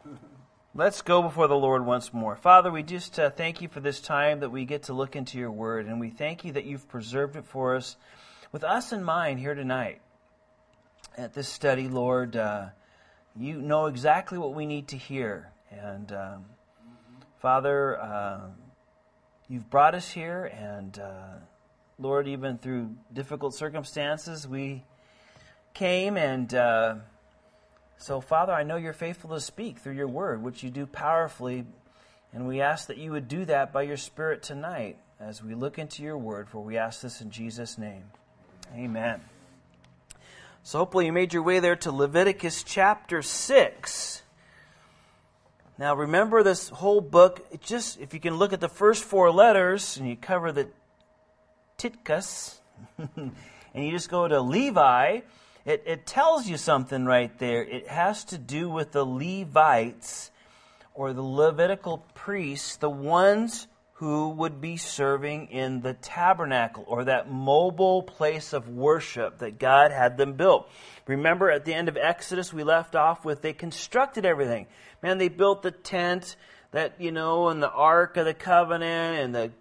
Let's go before the Lord once more. Father, we just thank you for this time that we get to look into your word, and we thank you that you've preserved it for us with us in mind here tonight. At this study, Lord, you know exactly what we need to hear. And Father, you've brought us here, and Lord, even through difficult circumstances, we came and... So, Father, I know you're faithful to speak through your word, which you do powerfully, and we ask that you would do that by your Spirit tonight as we look into your word, for we ask this in Jesus' name. Amen. So hopefully you made your way there to Leviticus chapter 6. Now, remember this whole book, if you can look at the first four letters, and you cover the Titkas, and you just go to Levi, It tells you something right there. It has to do with the Levites, or the Levitical priests, the ones who would be serving in the tabernacle, or that mobile place of worship that God had them built. Remember at the end of Exodus, we left off with they constructed everything. Man, they built the tent, and the Ark of the Covenant, and the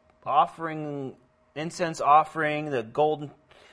incense offering, the golden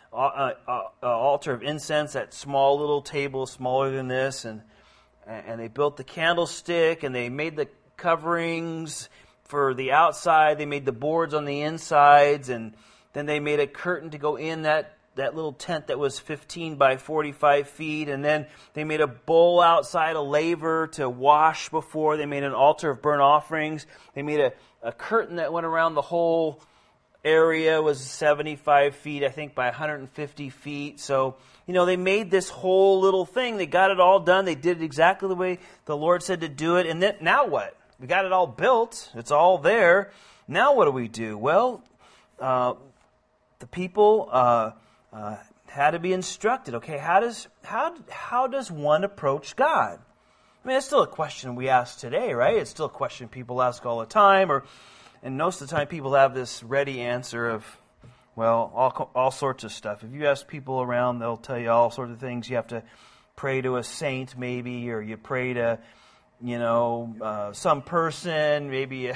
altar of incense, that small little table, smaller than this, and they built the candlestick, and they made the coverings for the outside. They made the boards on the insides, and then they made a curtain to go in that little tent that was 15 by 45 feet, and then they made a bowl outside, a laver to wash before. They made an altar of burnt offerings. They made a curtain that went around the whole area, was 75 feet, I think, by 150 feet. So, they made this whole little thing. They got it all done. They did it exactly the way the Lord said to do it. And then, now what? We got it all built. It's all there. Now what do we do? Well, the people had to be instructed. Okay, how does one approach God? I mean, it's still a question we ask today, right? It's still a question people ask all the time, and most of the time people have this ready answer of, well, all sorts of stuff. If you ask people around, they'll tell you all sorts of things. You have to pray to a saint maybe, or you pray to, some person, maybe,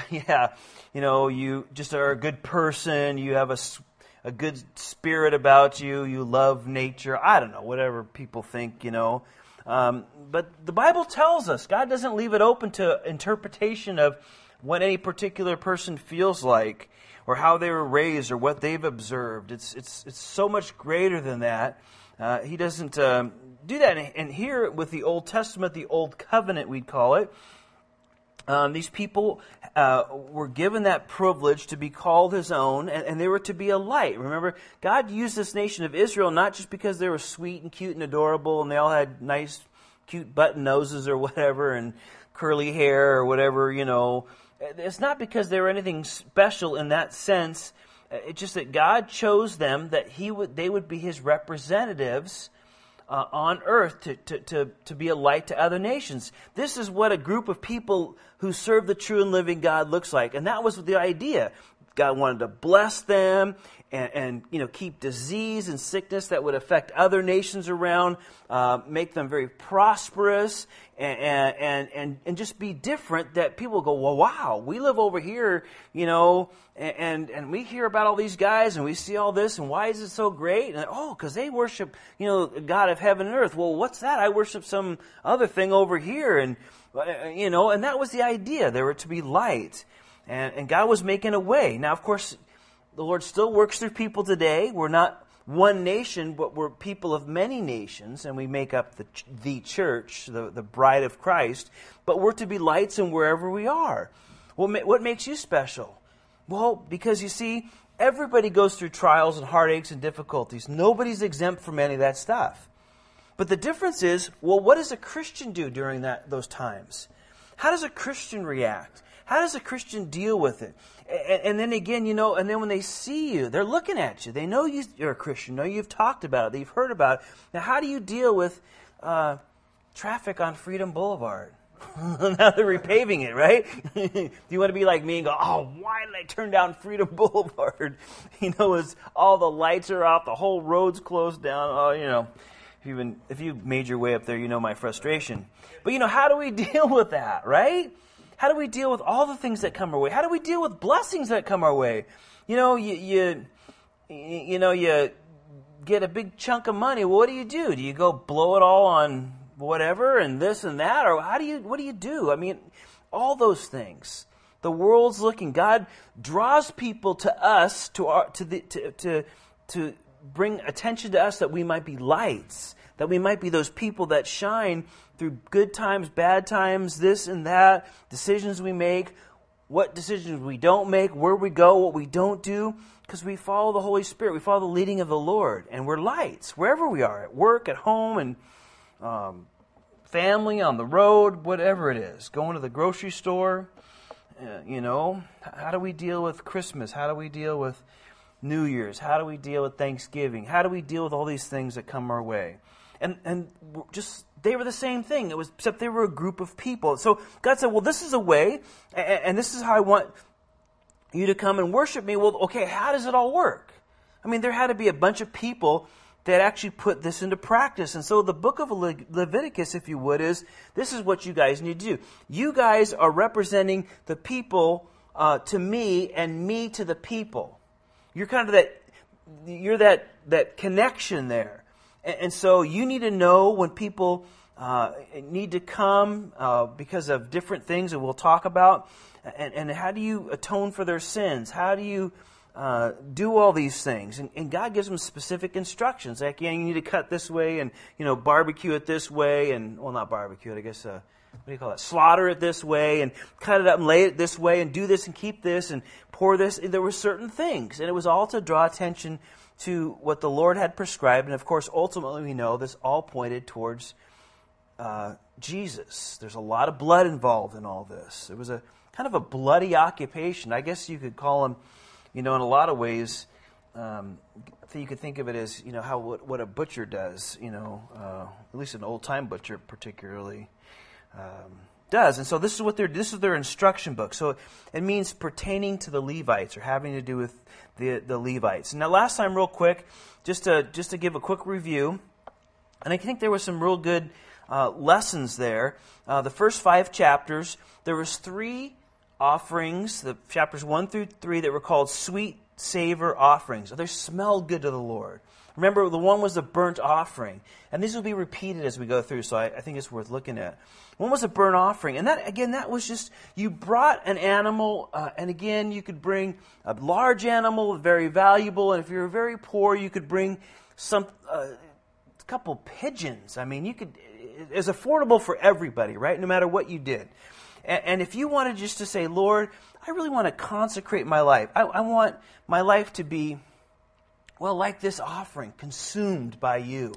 you just are a good person, you have a good spirit about you, you love nature, I don't know, whatever people think, But the Bible tells us, God doesn't leave it open to interpretation of what any particular person feels like, or how they were raised, or what they've observed. It's so much greater than that. He doesn't do that. And here with the Old Testament, the Old Covenant, we'd call it, these people were given that privilege to be called His own, and they were to be a light. Remember, God used this nation of Israel not just because they were sweet and cute and adorable, and they all had nice, cute button noses or whatever, and curly hair or whatever, It's not because they were anything special in that sense. It's just that God chose them, that they would be His representatives on earth to be a light to other nations. This is what a group of people who serve the true and living God looks like. And that was the idea. God wanted to bless them and keep disease and sickness that would affect other nations around, make them very prosperous, and just be different, that people go, well, wow, we live over here, and we hear about all these guys, and we see all this, and why is it so great? And because they worship, God of heaven and earth. Well, what's that? I worship some other thing over here, and that was the idea. They were to be light. And God was making a way. Now, of course, the Lord still works through people today. We're not one nation, but we're people of many nations, and we make up the church, the bride of Christ. But we're to be lights in wherever we are. What makes you special? Well, because you see, everybody goes through trials and heartaches and difficulties. Nobody's exempt from any of that stuff. But the difference is, well, what does a Christian do during those times? How does a Christian react? How does a Christian deal with it? And then again, and then when they see you, they're looking at you. They know you're a Christian. Know you've talked about it. They've heard about it. Now, how do you deal with traffic on Freedom Boulevard? Now they're repaving it, right? Do you want to be like me and go, why did I turn down Freedom Boulevard? As all the lights are off, the whole road's closed down. If you made your way up there, you know my frustration. But how do we deal with that, right? How do we deal with all the things that come our way? How do we deal with blessings that come our way? You get a big chunk of money. Well, what do? Do you go blow it all on whatever and this and that, or what do you do? I mean, all those things. The world's looking. God draws people to us to bring attention to us, that we might be lights, that we might be those people that shine through good times, bad times, this and that, decisions we make, what decisions we don't make, where we go, what we don't do, because we follow the Holy Spirit. We follow the leading of the Lord, and we're lights wherever we are, at work, at home, and family, on the road, whatever it is, going to the grocery store. How do we deal with Christmas? How do we deal with New Year's? How do we deal with Thanksgiving? How do we deal with all these things that come our way? And just, they were the same thing. Except they were a group of people. So God said, well, this is a way, and this is how I want you to come and worship me. Well, okay, how does it all work? I mean, there had to be a bunch of people that actually put this into practice. And so the book of Leviticus, if you would, this is what you guys need to do. You guys are representing the people to me, and me to the people. You're kind of that connection there. And so you need to know when people need to come because of different things that we'll talk about. And how do you atone for their sins? How do you do all these things? And God gives them specific instructions. Like, you need to cut this way, and barbecue it this way, and not barbecue it, I guess. What do you call it? Slaughter it this way, and cut it up and lay it this way, and do this and keep this and pour this. There were certain things, and it was all to draw attention to what the Lord had prescribed. And of course, ultimately, we know this all pointed towards Jesus. There's a lot of blood involved in all this. It was a kind of a bloody occupation. I guess you could call him, in a lot of ways, you could think of it as, what a butcher does, at least an old-time butcher particularly does. And so this is their instruction book. So it means pertaining to the Levites, or having to do with the Levites. Now, last time, real quick, just to give a quick review, and I think there were some real good lessons there. The first 5 chapters, there was 3 offerings, the chapters 1 through 3, that were called sweet savor offerings. They smelled good to the Lord. Remember, the one was the burnt offering. And these will be repeated as we go through, so I think it's worth looking at. One was a burnt offering. And that was just, you brought an animal, and again, you could bring a large animal, very valuable, and if you were very poor, you could bring a couple pigeons. I mean, it's affordable for everybody, right? No matter what you did. And if you wanted just to say, Lord, I really want to consecrate my life. I want my life to be, like this offering, consumed by you.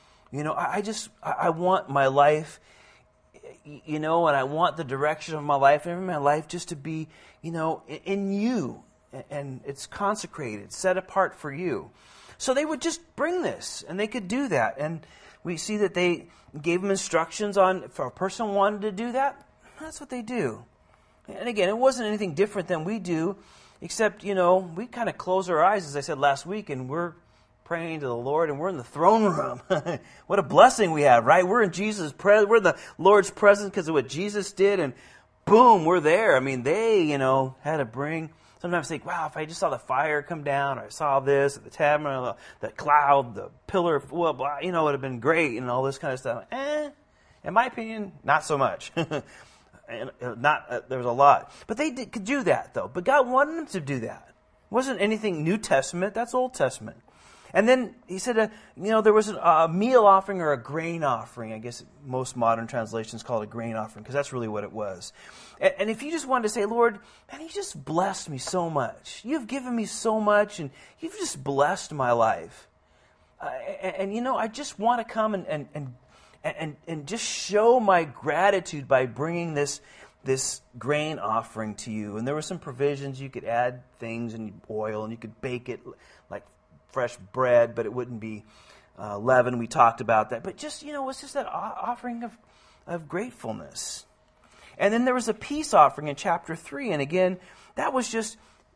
I want my life, and I want the direction of my life, and my life just to be, in you. And it's consecrated, set apart for you. So they would just bring this, and they could do that. And we see that they gave them instructions on, if a person wanted to do that, that's what they do. And again, it wasn't anything different than we do, except, we kind of close our eyes, as I said last week, and we're praying to the Lord, and we're in the throne room. What a blessing we have, right? We're in Jesus' presence. We're in the Lord's presence because of what Jesus did, and boom, we're there. I mean, they, had to bring. Sometimes think, wow, if I just saw the fire come down, or I saw this, the tabernacle, the cloud, the pillar, it would have been great, and all this kind of stuff. In my opinion, not so much. And there was a lot. But they could do that, though. But God wanted them to do that. It wasn't anything New Testament. That's Old Testament. And then he said, there was a meal offering or a grain offering. I guess most modern translations call it a grain offering, because that's really what it was. And if you just wanted to say, Lord, man, you just blessed me so much. You've given me so much, and you've just blessed my life. I just want to come and just show my gratitude by bringing this grain offering to you. And there were some provisions. You could add things and oil, and you could bake it like fresh bread, but it wouldn't be leaven. We talked about that. But just, it was just that offering of gratefulness. And then there was a peace offering in chapter 3. And again, that was just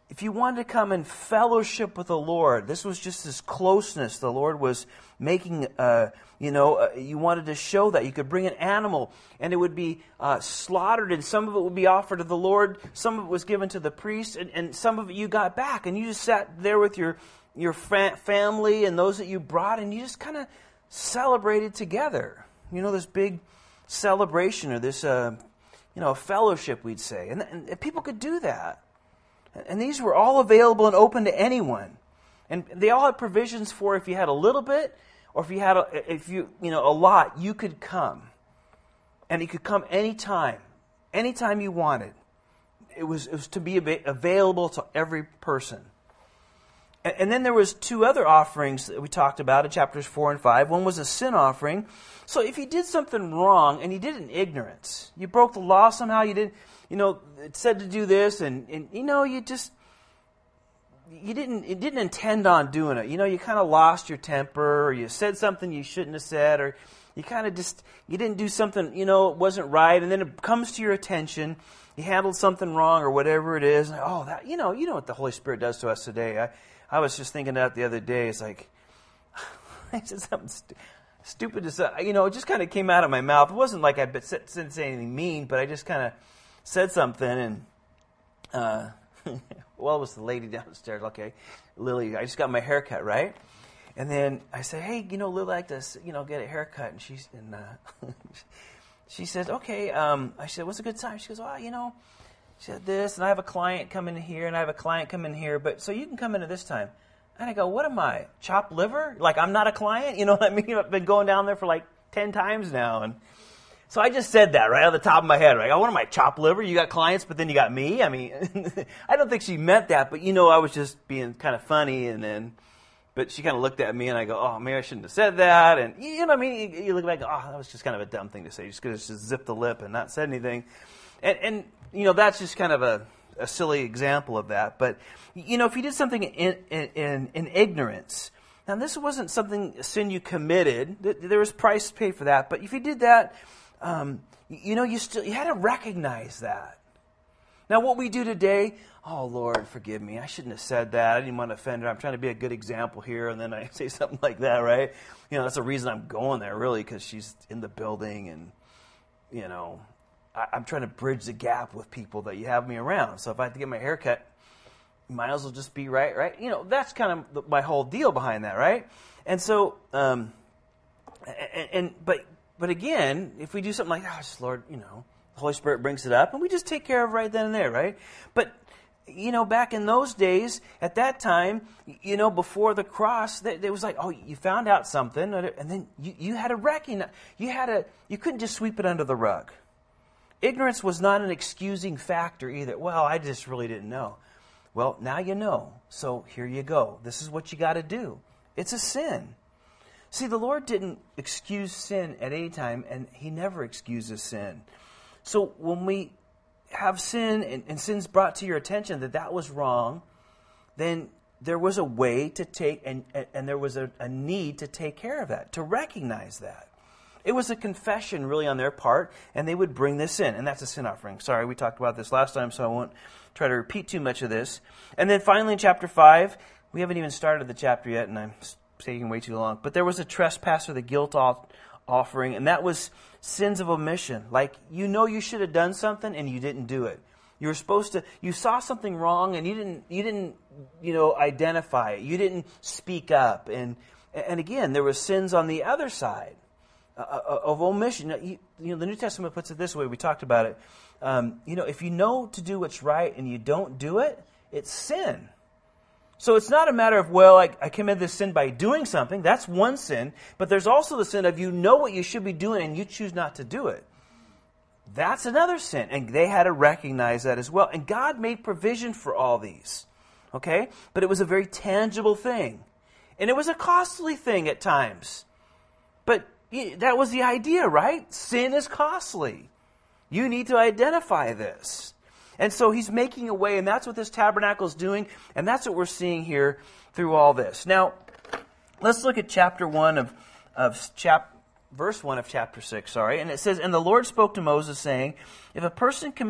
if you wanted to come in fellowship with the Lord, this was just this closeness the Lord was making, you wanted to show that. You could bring an animal, and it would be slaughtered, and some of it would be offered to the Lord, some of it was given to the priest, and some of it you got back, and you just sat there with your family and those that you brought, and you just kind of celebrated together. This big celebration, or this, fellowship, we'd say. And people could do that. And these were all available and open to anyone. And they all had provisions for if you had a little bit, or if you had a lot, you could come. And you could come anytime you wanted. It was to be available to every person. And then there was 2 other offerings that we talked about in chapters 4 and 5. One was a sin offering. So if you did something wrong, and you did it in ignorance, you broke the law somehow, you did, it said to do this, and you didn't intend on doing it. You kind of lost your temper, or you said something you shouldn't have said, or you kind of you didn't do something, it wasn't right, and then it comes to your attention, you handled something wrong, or whatever it is, and, that, you know what the Holy Spirit does to us today. I was just thinking that the other day. It's like, I said something stupid to say. It just kind of came out of my mouth. It wasn't like I didn't say anything mean, but I just kind of said something. And, it was the lady downstairs. Okay, Lily, I just got my hair cut, right? And then I said, hey, Lily, I'd like to, get a haircut. And she said, okay. I said, what's a good time? She goes, she said this, and I have a client come in here, and I have a client come in here, but so you can come in at this time. And I go, what am I, chopped liver? Like I'm not a client? You know what I mean? I've been going down there for like 10 times now. And so I just said that right off the top of my head. Right? What am I, chopped liver? You got clients, but then you got me? I mean, I don't think she meant that, but I was just being kind of funny. But she kind of looked at me, and I go, oh, maybe I shouldn't have said that. And you know what I mean? You look back, that was just kind of a dumb thing to say. You just could have just zipped the lip and not said anything. And that's just kind of a silly example of that. But, if you did something in ignorance, now this wasn't a sin you committed. There was price to pay for that. But if you did that, you had to recognize that. Now what we do today, oh, Lord, forgive me. I shouldn't have said that. I didn't want to offend her. I'm trying to be a good example here. And then I say something like that, right? That's the reason I'm going there, really, because she's in the building and, I'm trying to bridge the gap with people that you have me around. So if I have to get my hair cut, you might as well just be right. That's kind of my whole deal behind that, right? And so, but again, if we do something like, Lord, the Holy Spirit brings it up, and we just take care of it right then and there, right? But, back in those days, at that time, before the cross, it was like, you found out something, and then you had to recognize, you couldn't just sweep it under the rug. Ignorance was not an excusing factor either. Well, I just really didn't know. Well, now you know. So here you go. This is what you got to do. It's a sin. See, the Lord didn't excuse sin at any time, and He never excuses sin. So when we have sin and sin's brought to your attention that was wrong, then there was a way to take, and there was a need to take care of that, to recognize that. It was a confession really on their part, and they would bring this in, and that's a sin offering. Sorry, we talked about this last time, so I won't try to repeat too much of this. And then finally in chapter 5, we haven't even started the chapter yet, and I'm taking way too long, but there was a trespass or the guilt offering, and that was sins of omission. Like, you should have done something, and you didn't do it. You were supposed to, you saw something wrong, and you didn't identify it. You didn't speak up. And again, there was sins on the other side. Of omission. The New Testament puts it this way. We talked about it. If you know to do what's right and you don't do it, it's sin. So it's not a matter of, I committed this sin by doing something. That's one sin. But there's also the sin of you know what you should be doing and you choose not to do it. That's another sin. And they had to recognize that as well. And God made provision for all these. Okay? But it was a very tangible thing. And it was a costly thing at times. But that was the idea, right? Sin is costly. You need to identify this. And so He's making a way, and that's what this tabernacle is doing, and that's what we're seeing here through all this. Now, let's look at verse 1 of chapter 6, and it says, "And the Lord spoke to Moses, saying, If a person commits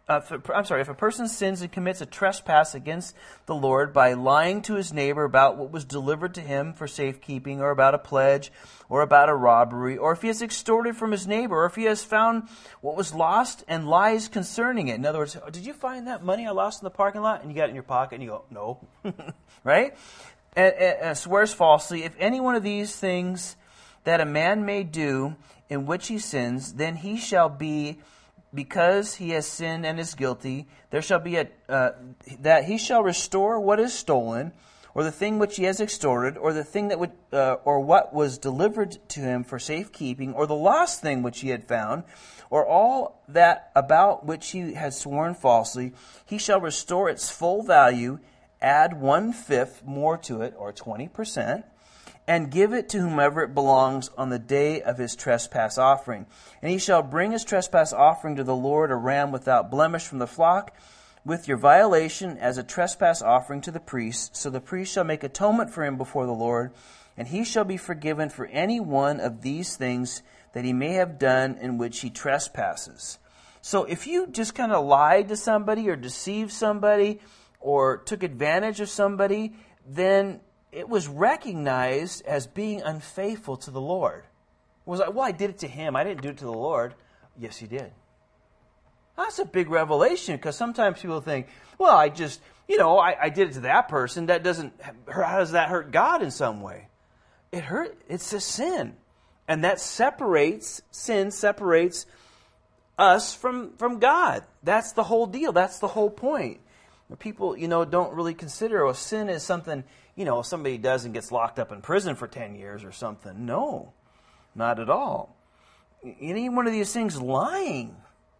if a person sins and commits a trespass against the Lord by lying to his neighbor about what was delivered to him for safekeeping, or about a pledge, or about a robbery, or if he has extorted from his neighbor, or if he has found what was lost and lies concerning it. In other words, did you find that money I lost in the parking lot? And you got it in your pocket, and you go, no. Right? And swears falsely. If any one of these things that a man may do in which he sins, then he shall be, because he has sinned and is guilty, there shall be that he shall restore what is stolen, or the thing which he has extorted, or the thing that would, or what was delivered to him for safekeeping, or the lost thing which he had found, or all that about which he has sworn falsely. He shall restore its full value, add 1/5 more to it, or 20%. And give it to whomever it belongs on the day of his trespass offering. And he shall bring his trespass offering to the Lord, a ram without blemish from the flock, with your violation as a trespass offering to the priest. So the priest shall make atonement for him before the Lord, and he shall be forgiven for any one of these things that he may have done in which he trespasses. So if you just kind of lied to somebody or deceived somebody or took advantage of somebody, then it was recognized as being unfaithful to the Lord. It was like, well, I did it to him. I didn't do it to the Lord. Yes, you did. That's a big revelation, because sometimes people think, well, I did it to that person. How does that hurt God in some way? It's a sin. And that sin separates us from God. That's the whole deal. That's the whole point. People, don't really consider, sin is something, somebody does and gets locked up in prison for 10 years or something. No, not at all. Any one of these things, lying.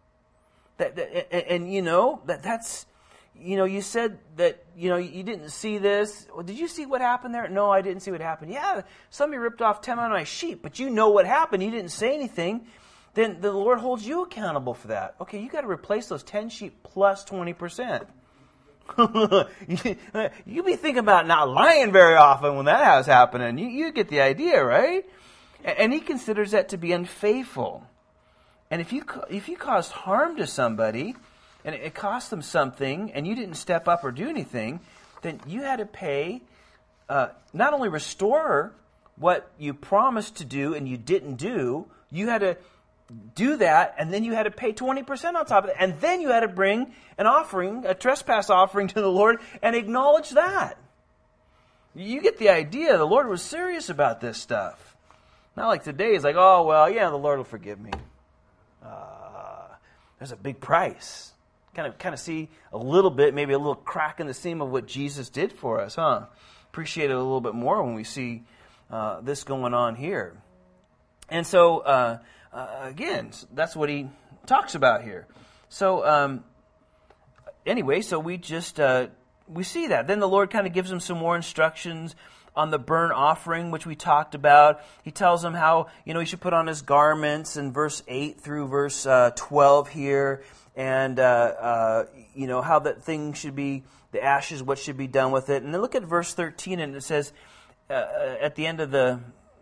That's, you said that, you didn't see this. Well, did you see what happened there? No, I didn't see what happened. Yeah, somebody ripped off 10 of my sheep, but you know what happened. You didn't say anything. Then the Lord holds you accountable for that. Okay, you got to replace those 10 sheep plus 20%. You be thinking about not lying very often when that has happening. You get the idea, right? And he considers that to be unfaithful. And if you caused harm to somebody, and it cost them something, and you didn't step up or do anything, then you had to pay, not only restore what you promised to do and you didn't do, you had to do that, and then you had to pay 20% on top of it, and then you had to bring an offering, a trespass offering to the Lord, and acknowledge that. You get the idea. The Lord was serious about this stuff. Not like today, it's like, oh, well, yeah, the Lord will forgive me. There's a big price. Kind of see a little bit, maybe a little crack in the seam of what Jesus did for us, huh? Appreciate it a little bit more when we see this going on here. And so, again, that's what he talks about here. So, anyway, so we just, we see that. Then the Lord kind of gives him some more instructions on the burnt offering, which we talked about. He tells him how, he should put on his garments in verse 8 through verse 12 here. And, how that thing should be, the ashes, what should be done with it. And then look at verse 13, and it says, at the end of the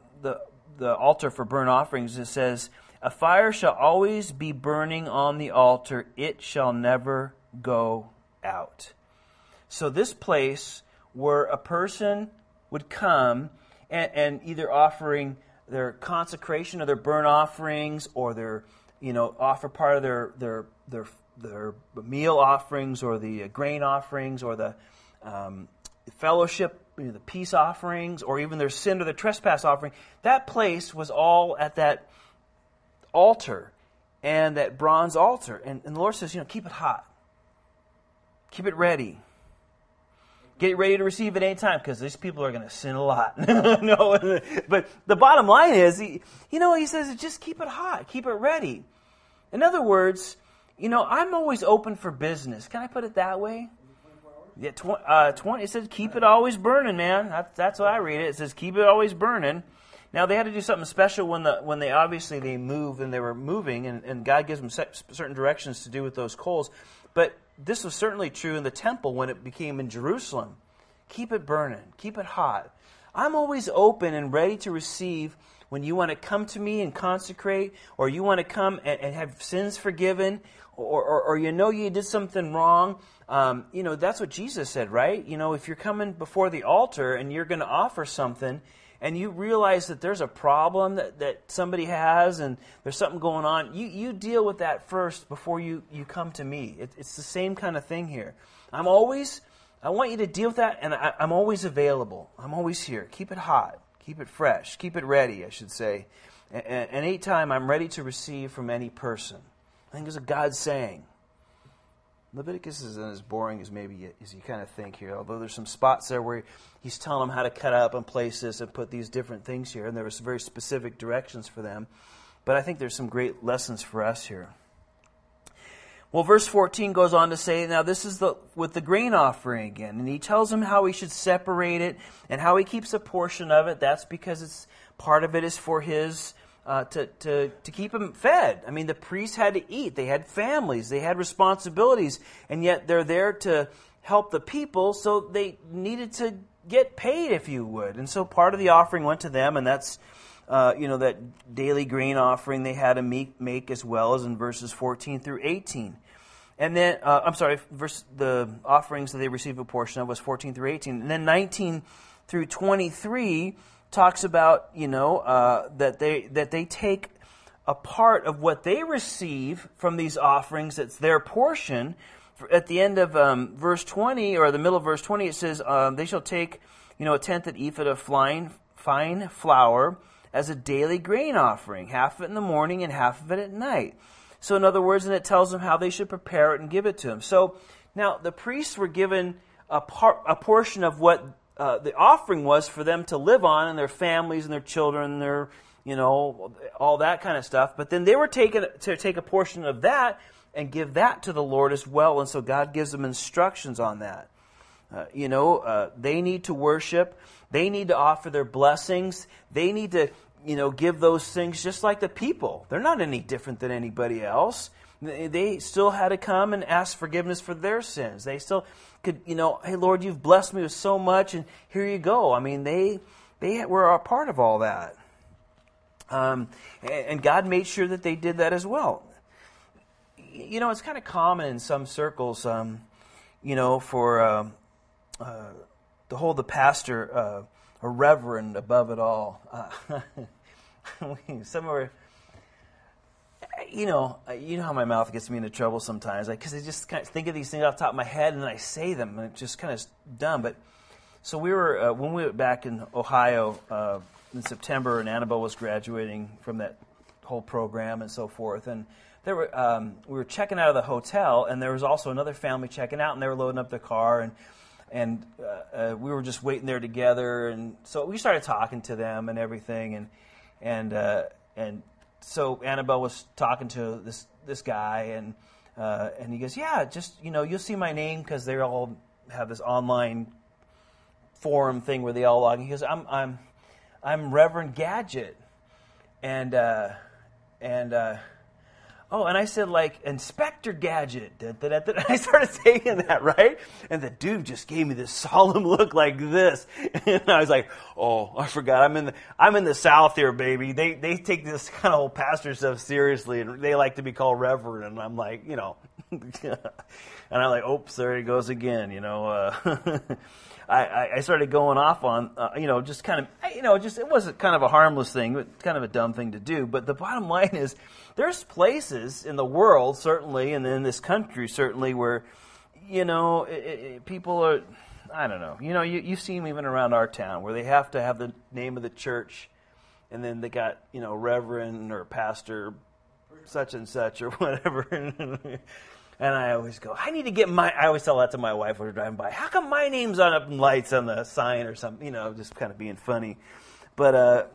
altar for burnt offerings, it says, a fire shall always be burning on the altar. It shall never go out. So this place where a person would come and either offering their consecration or their burnt offerings, or their, offer part of their meal offerings, or the grain offerings, or the fellowship, the peace offerings, or even their sin or the trespass offering. That place was all at that altar, and that bronze altar. And the Lord says, keep it hot. Keep it ready. Get ready to receive it any time, because these people are going to sin a lot. No, but the bottom line is, he says, just keep it hot. Keep it ready. In other words, I'm always open for business. Can I put it that way? Yeah, 20. It says keep it always burning, man. That's what I read it. It says keep it always burning. Now they had to do something special when they obviously moved, and they were moving, and God gives them certain directions to do with those coals. But this was certainly true in the temple when it became in Jerusalem. Keep it burning. Keep it hot. I'm always open and ready to receive when you want to come to me and consecrate, or you want to come and have sins forgiven, or you know you did something wrong, that's what Jesus said, right? If you're coming before the altar and you're going to offer something, and you realize that there's a problem that somebody has and there's something going on, you deal with that first before you come to me. It's the same kind of thing here. I want you to deal with that, and I'm always available. I'm always here. Keep it hot. Keep it fresh. Keep it ready, I should say. And anytime I'm ready to receive from any person. I think it's a God saying. Leviticus isn't as boring as as you kind of think here, although there's some spots there where he's telling them how to cut up and place this and put these different things here, and there was very specific directions for them. But I think there's some great lessons for us here. Well, verse 14 goes on to say, now this is with the grain offering again, and he tells them how he should separate it and how he keeps a portion of it. That's because part of it is for his to keep them fed. I mean, the priests had to eat. They had families. They had responsibilities. And yet they're there to help the people, so they needed to get paid, if you would. And so part of the offering went to them, and that's, that daily grain offering they had to make as well, as in verses 14 through 18. And then, the offerings that they received a portion of was 14 through 18. And then 19 through 23 talks about, that they take a part of what they receive from these offerings. It's their portion. At the end of verse 20, or the middle of verse 20, it says, they shall take, a tenth of ephah of fine flour as a daily grain offering, half of it in the morning and half of it at night. So in other words, and it tells them how they should prepare it and give it to him. So now the priests were given a portion of what the offering was for them to live on, and their families and their children, and their, all that kind of stuff. But then they were to take a portion of that and give that to the Lord as well. And so God gives them instructions on that. They need to worship. They need to offer their blessings. They need to, give those things just like the people. They're not any different than anybody else. They still had to come and ask forgiveness for their sins. They still could, hey, Lord, you've blessed me with so much, and here you go. I mean, they were a part of all that. And God made sure that they did that as well. It's kind of common in some circles, for to hold the pastor a reverend above it all. Some are... You know how my mouth gets me into trouble sometimes, because I just kind of think of these things off the top of my head and then I say them, and it's just kind of dumb. But so we were when we were back in Ohio in September, and Annabelle was graduating from that whole program and so forth, and we were checking out of the hotel, and there was also another family checking out, and they were loading up their car, and we were just waiting there together, and so we started talking to them and everything, and so Annabelle was talking to this guy, and he goes, yeah, just, you'll see my name, because they all have this online forum thing where they all log in. He goes, I'm Reverend Gadget, and I said, like, Inspector Gadget. I started saying that, right? And the dude just gave me this solemn look like this. And I was like, oh, I forgot. I'm in the South here, baby. They take this kind of whole pastor stuff seriously, and they like to be called Reverend. And I'm like, and I'm like, oops, there he goes again, I started going off on, just kind of, it wasn't kind of a harmless thing, but kind of a dumb thing to do. But the bottom line is, there's places in the world, certainly, and in this country, certainly, where, people are, I don't know, you see them even around our town, where they have to have the name of the church, and then they got, Reverend or Pastor such and such or whatever. And I always go, I need to get I always tell that to my wife when we're driving by. How come my name's on up in lights on the sign or something? Just kind of being funny. But,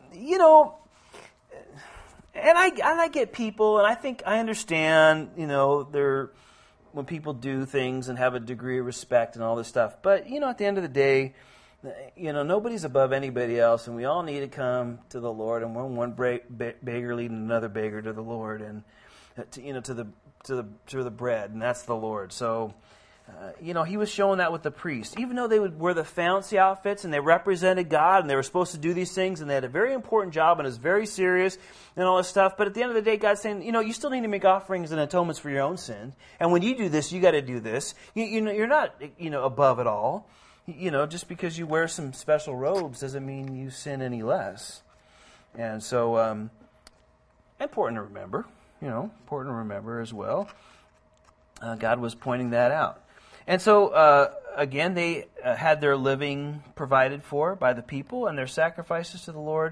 and I get people, and I think I understand, when people do things and have a degree of respect and all this stuff. But, at the end of the day, nobody's above anybody else, and we all need to come to the Lord, and we're one beggar leading another beggar to the Lord, and to the bread, and that's the Lord. So he was showing that with the priests. Even though they would wear the fancy outfits and they represented God and they were supposed to do these things and they had a very important job and it was very serious and all this stuff. But at the end of the day, God's saying, you still need to make offerings and atonements for your own sin. And when you do this, you got to do this. You're not, above it all. Just because you wear some special robes doesn't mean you sin any less. And so, important to remember as well. God was pointing that out. And so, again, they had their living provided for by the people, and their sacrifices to the Lord,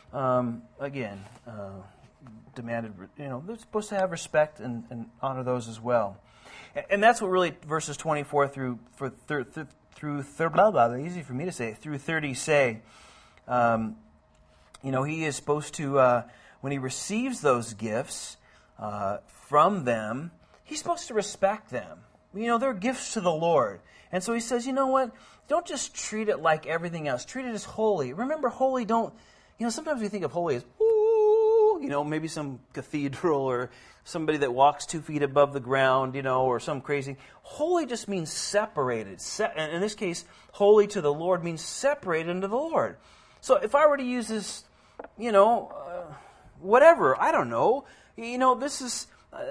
demanded, they're supposed to have respect and honor those as well. And that's what really verses 24 through 30 say. He is supposed to, when he receives those gifts from them, he's supposed to respect them. They're gifts to the Lord. And so he says, you know what? Don't just treat it like everything else. Treat it as holy. Remember, holy sometimes we think of holy as, maybe some cathedral or somebody that walks 2 feet above the ground, or some crazy. Holy just means separated. And in this case, holy to the Lord means separated unto the Lord. So if I were to use this, whatever, I don't know, this is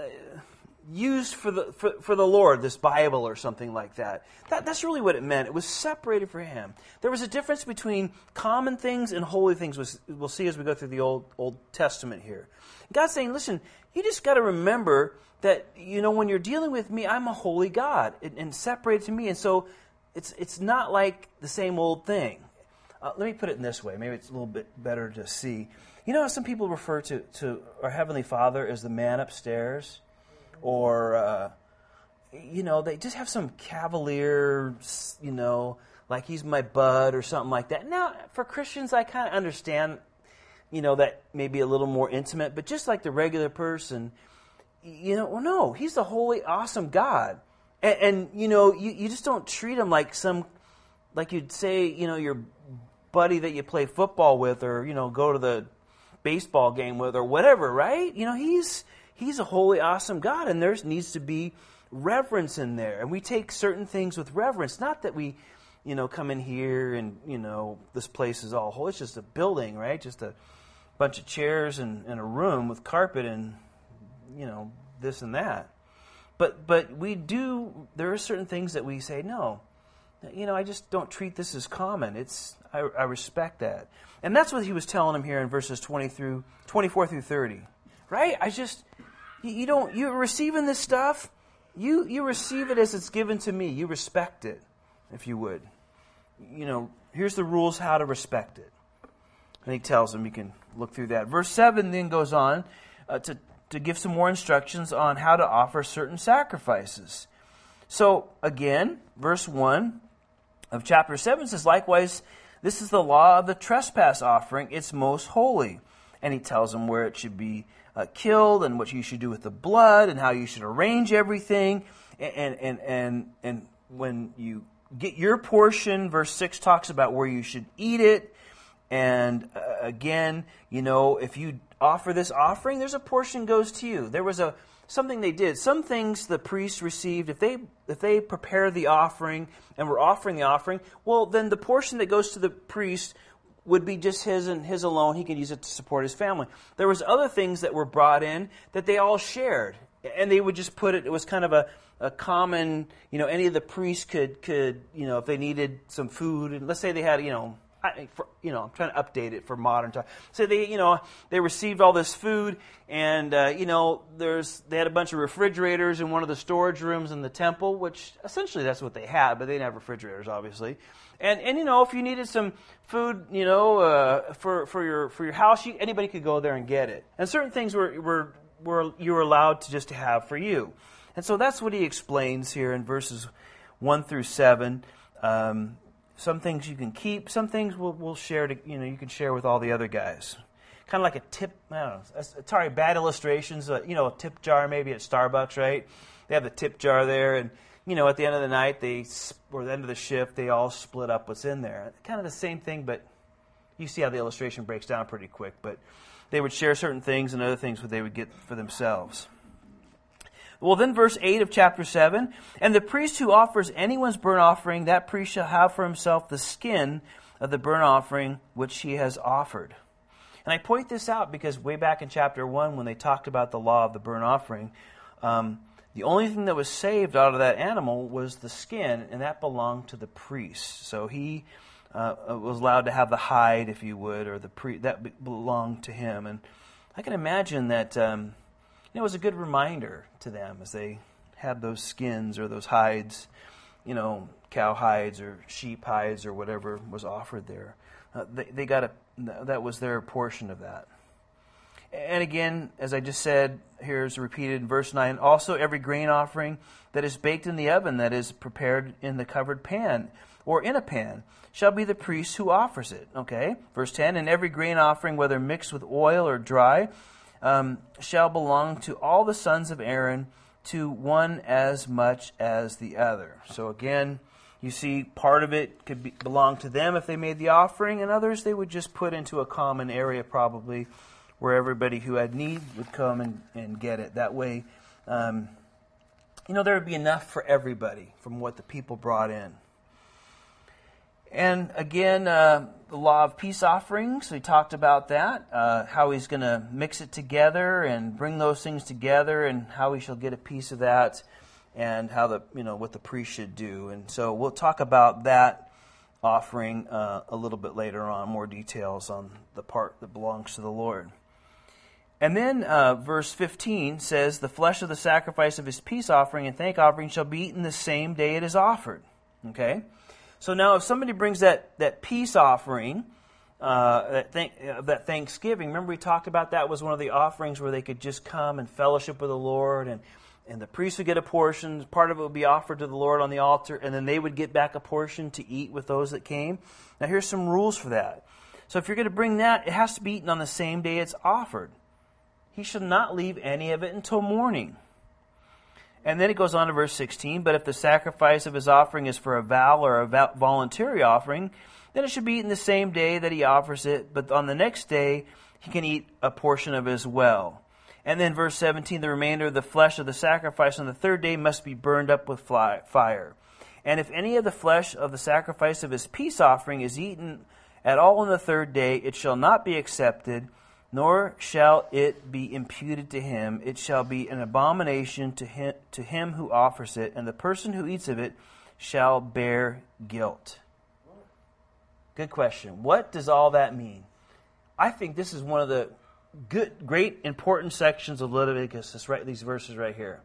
used for the Lord, this Bible or something like that. That's really what it meant. It was separated for Him. There was a difference between common things and holy things. We'll see as we go through the Old Testament here. God's saying, listen, you just got to remember that, when you're dealing with me, I'm a holy God and separated to me. And so it's not like the same old thing. Let me put it in this way. Maybe it's a little bit better to see. How some people refer to our Heavenly Father as the man upstairs? Or, they just have some cavalier, like he's my bud or something like that. Now, for Christians, I kind of understand, that may be a little more intimate. But just like the regular person, no, he's the holy, awesome God. And you just don't treat him like like you'd say, your buddy that you play football with or, go to the baseball game with or whatever, right? He's a holy, awesome God, and there needs to be reverence in there. And we take certain things with reverence. Not that we, come in here and, this place is all holy. It's just a building, right? Just a bunch of chairs and a room with carpet and, this and that. But there are certain things that we say, no, I just don't treat this as common. I respect that. And that's what he was telling him here in verses 24 through 30. Right? You're receiving this stuff, you receive it as it's given to me. You respect it, if you would. Here's the rules how to respect it. And he tells them, you can look through that. Verse 7 then goes on to give some more instructions on how to offer certain sacrifices. So, again, verse 1 of chapter 7 says, likewise, this is the law of the trespass offering. It's most holy. And he tells them where it should be killed and what you should do with the blood and how you should arrange everything. And when you get your portion, verse 6 talks about where you should eat it. And again, if you offer this offering, there's a portion goes to you. There was something they did. Some things the priests received, if they prepare the offering and were offering the offering, well, then the portion that goes to the priest would be just his and his alone. He could use it to support his family. There was other things that were brought in that they all shared. And they would just put it was kind of a common, any of the priests could, if they needed some food, and let's say they had, I'm trying to update it for modern time. So they received all this food, and they had a bunch of refrigerators in one of the storage rooms in the temple, which essentially that's what they had, but they didn't have refrigerators, obviously. And if you needed some food, for your house, anybody could go there and get it. And certain things were you were allowed to have for you. And so that's what he explains here in verses 1 through 7. Some things you can keep. Some things we'll share. You can share with all the other guys. Kind of like a tip. I don't know. Sorry, bad illustrations. A tip jar maybe at Starbucks, right? They have the tip jar there, and at the end of the night, or the end of the shift, they all split up what's in there. Kind of the same thing, but you see how the illustration breaks down pretty quick. But they would share certain things, and other things they would get for themselves. Well, then verse 8 of chapter 7, and the priest who offers anyone's burnt offering, that priest shall have for himself the skin of the burnt offering which he has offered. And I point this out because way back in chapter 1, when they talked about the law of the burnt offering, the only thing that was saved out of that animal was the skin, and that belonged to the priest. So he was allowed to have the hide, if you would, or that belonged to him. And I can imagine that it was a good reminder to them as they had those skins or those hides, cow hides or sheep hides or whatever was offered there. They got that was their portion of that. And again, as I just said, here's repeated in verse 9, also every grain offering that is baked in the oven, that is prepared in the covered pan or in a pan, shall be the priest who offers it. Okay? Verse 10, and every grain offering, whether mixed with oil or dry, shall belong to all the sons of Aaron, to one as much as the other. So again, you see part of it could belong to them if they made the offering, and others they would just put into a common area probably, where everybody who had need would come and get it. That way, there would be enough for everybody from what the people brought in. And again, the law of peace offerings, we talked about that, how he's going to mix it together and bring those things together and how he shall get a piece of that and how what the priest should do. And so we'll talk about that offering a little bit later on, more details on the part that belongs to the Lord. And then verse 15 says, the flesh of the sacrifice of his peace offering and thank offering shall be eaten the same day it is offered. Okay? So now if somebody brings that peace offering, that Thanksgiving, remember we talked about that was one of the offerings where they could just come and fellowship with the Lord, and the priest would get a portion, part of it would be offered to the Lord on the altar, and then they would get back a portion to eat with those that came. Now here's some rules for that. So if you're going to bring that, it has to be eaten on the same day it's offered. He shall not leave any of it until morning. And then it goes on to verse 16, but if the sacrifice of his offering is for a vow or a voluntary offering, then it should be eaten the same day that he offers it, but on the next day he can eat a portion of it as well. And then verse 17, the remainder of the flesh of the sacrifice on the third day must be burned up with fire. And if any of the flesh of the sacrifice of his peace offering is eaten at all on the third day, it shall not be accepted, nor shall it be imputed to him. It shall be an abomination to him who offers it, and the person who eats of it shall bear guilt. Good question. What does all that mean? I think this is one of the great, important sections of Leviticus. These verses right here.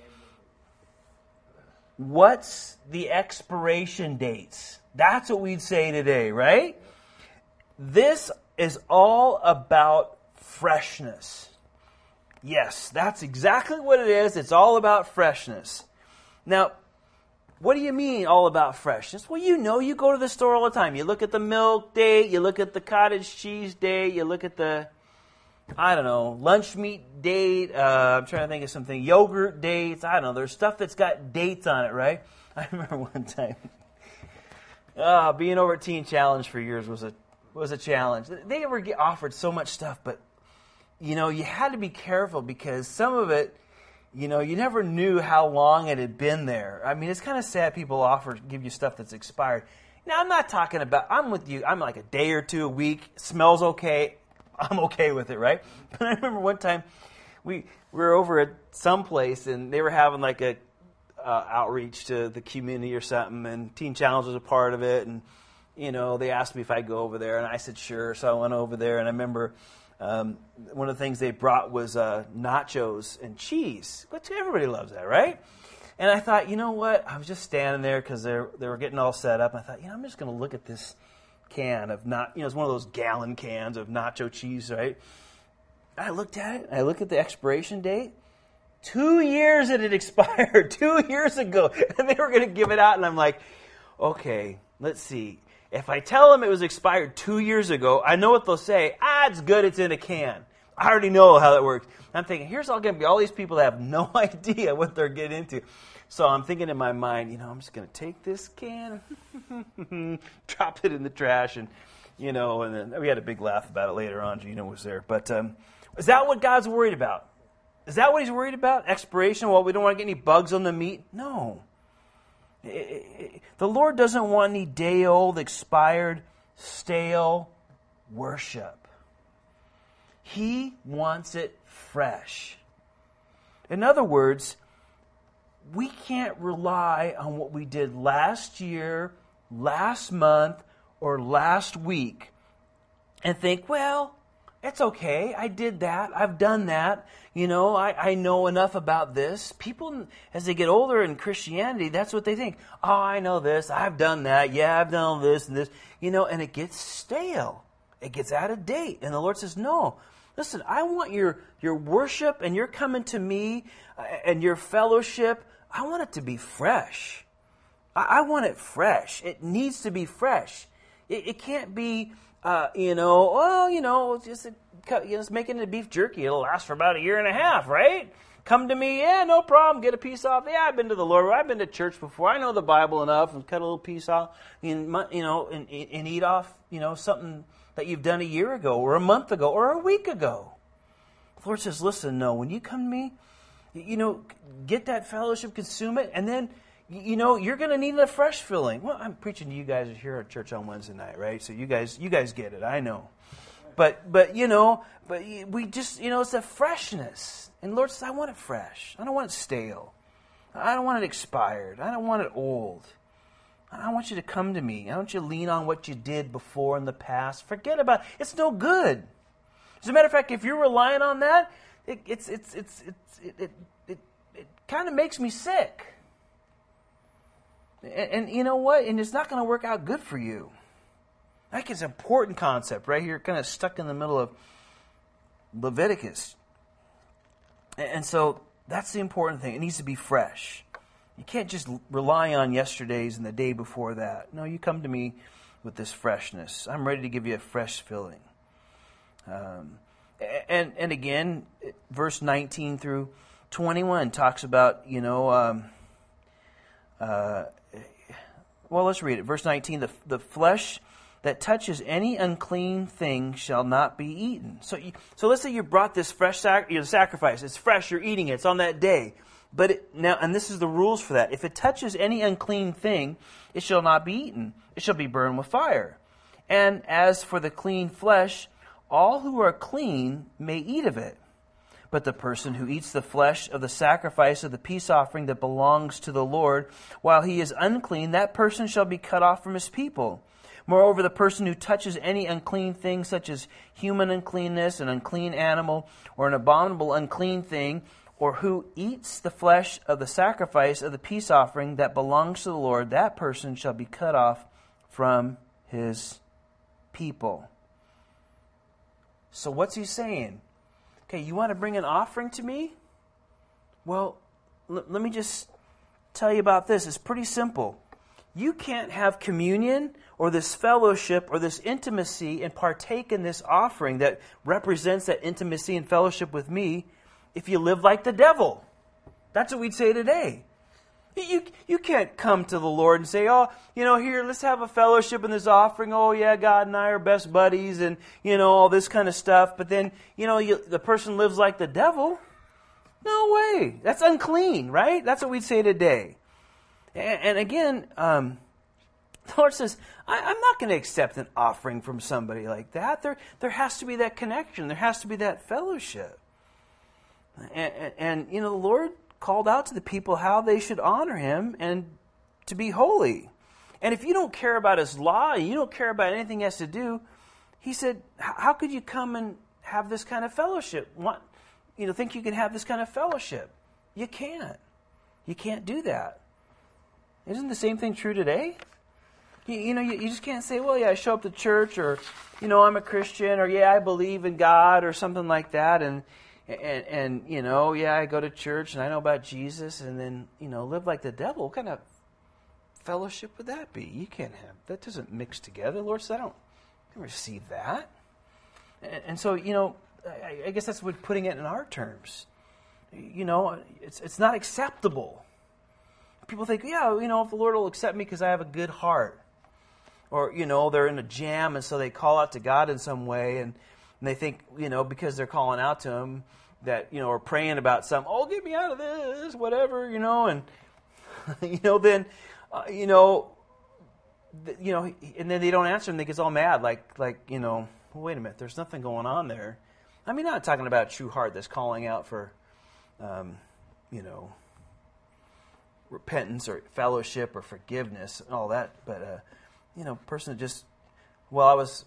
What's the expiration dates? That's what we'd say today, right? This is all about freshness. Yes, that's exactly what it is. It's all about freshness. Now, what do you mean all about freshness? Well, you go to the store all the time. You look at the milk date, you look at the cottage cheese date, you look at the, lunch meat date. I'm trying to think of something. Yogurt dates. I don't know. There's stuff that's got dates on it, right? I remember one time being over at Teen Challenge for years was a challenge. They were offered so much stuff, but you had to be careful because some of it, you never knew how long it had been there. I mean, it's kind of sad people give you stuff that's expired. Now, I'm not talking about, I'm with you, I'm like a day or two, a week, smells okay, I'm okay with it, right? But I remember one time we were over at some place and they were having like a outreach to the community or something, and Teen Challenge was a part of it, and they asked me if I'd go over there, and I said sure. So I went over there, and I remember one of the things they brought was nachos and cheese, which everybody loves that, right? And I thought, you know what? I was just standing there because they were getting all set up. And I thought, I'm just going to look at this can of it's one of those gallon cans of nacho cheese, right? I looked at it. I looked at the expiration date. 2 years it had expired 2 years ago, and they were going to give it out. And I'm like, okay, let's see. If I tell them it was expired 2 years ago, I know what they'll say. It's good, it's in a can. I already know how that works. I'm thinking, here's all going to be all these people that have no idea what they're getting into. So I'm thinking in my mind, I'm just going to take this can, drop it in the trash, and then we had a big laugh about it later on. Gina was there. But is that what God's worried about? Is that what he's worried about? Expiration? Well, we don't want to get any bugs on the meat? No. The Lord doesn't want any day-old, expired, stale worship. He wants it fresh. In other words, we can't rely on what we did last year, last month, or last week and think, well, it's okay. I did that. I've done that. I know enough about this. People, as they get older in Christianity, that's what they think. Oh, I know this. I've done that. Yeah, I've done all this and this. And it gets stale. It gets out of date. And the Lord says, no. Listen, I want your worship and your coming to me and your fellowship. I want it to be fresh. I want it fresh. It needs to be fresh. It can't be, just making it beef jerky. It'll last for about a year and a half, right? Come to me, yeah, no problem. Get a piece off. Yeah, I've been to the Lord. I've been to church before. I know the Bible enough, and cut a little piece off, and eat off, something that you've done a year ago, or a month ago, or a week ago. The Lord says, listen, no, when you come to me, get that fellowship, consume it, and then, you're going to need a fresh filling. Well, I'm preaching to you guys here at church on Wednesday night, right? So you guys get it. I know. But we just, it's a freshness. And the Lord says, I want it fresh. I don't want it stale. I don't want it expired. I don't want it old. I want you to come to me. I want you to lean on what you did before in the past. Forget about it. It's no good. As a matter of fact, if you're relying on that, it kind of makes me sick. And you know what? And it's not going to work out good for you. I think it's an important concept right here, kind of stuck in the middle of Leviticus. And so that's the important thing. It needs to be fresh. You can't just rely on yesterday's and the day before that. No, you come to me with this freshness. I'm ready to give you a fresh filling. And again, verse 19 through 21 talks about, well, let's read it. Verse 19, the flesh that touches any unclean thing shall not be eaten. So let's say you brought this fresh sacrifice. It's fresh, you're eating it. It's on that day. But and this is the rules for that. If it touches any unclean thing, it shall not be eaten. It shall be burned with fire. And as for the clean flesh, all who are clean may eat of it. But the person who eats the flesh of the sacrifice of the peace offering that belongs to the Lord, while he is unclean, that person shall be cut off from his people. Moreover, the person who touches any unclean thing, such as human uncleanness, an unclean animal, or an abominable unclean thing, or who eats the flesh of the sacrifice of the peace offering that belongs to the Lord, that person shall be cut off from his people. So what's he saying? Okay, you want to bring an offering to me? Well, let me just tell you about this. It's pretty simple. You can't have communion or this fellowship or this intimacy and partake in this offering that represents that intimacy and fellowship with me if you live like the devil. That's what we'd say today. You can't come to the Lord and say, here, let's have a fellowship in this offering. Oh, yeah, God and I are best buddies and, all this kind of stuff. But then, the person lives like the devil. No way. That's unclean, right? That's what we'd say today. And again, the Lord says, I'm not going to accept an offering from somebody like that. There has to be that connection. There has to be that fellowship. And the Lord called out to the people how they should honor him and to be holy. And if you don't care about his law, and you don't care about anything he has to do, he said, how could you come and have this kind of fellowship? Think you can have this kind of fellowship? You can't. You can't do that. Isn't the same thing true today? You just can't say, well, yeah, I show up to church, or, I'm a Christian, or, yeah, I believe in God, or something like that, and yeah, I go to church and I know about Jesus, and then, live like the devil. What kind of fellowship would that be? You can't have, that doesn't mix together. The Lord said, I don't receive that. And so, I guess that's what putting it in our terms. It's not acceptable. People think, yeah, if the Lord will accept me because I have a good heart. Or, they're in a jam and so they call out to God in some way, and they think, because they're calling out to him, that are praying about something. Oh, get me out of this, whatever, and then and then they don't answer, and they get all mad, like well, wait a minute, there's nothing going on there. I mean, not talking about a true heart that's calling out for, repentance or fellowship or forgiveness and all that, but person that just, I was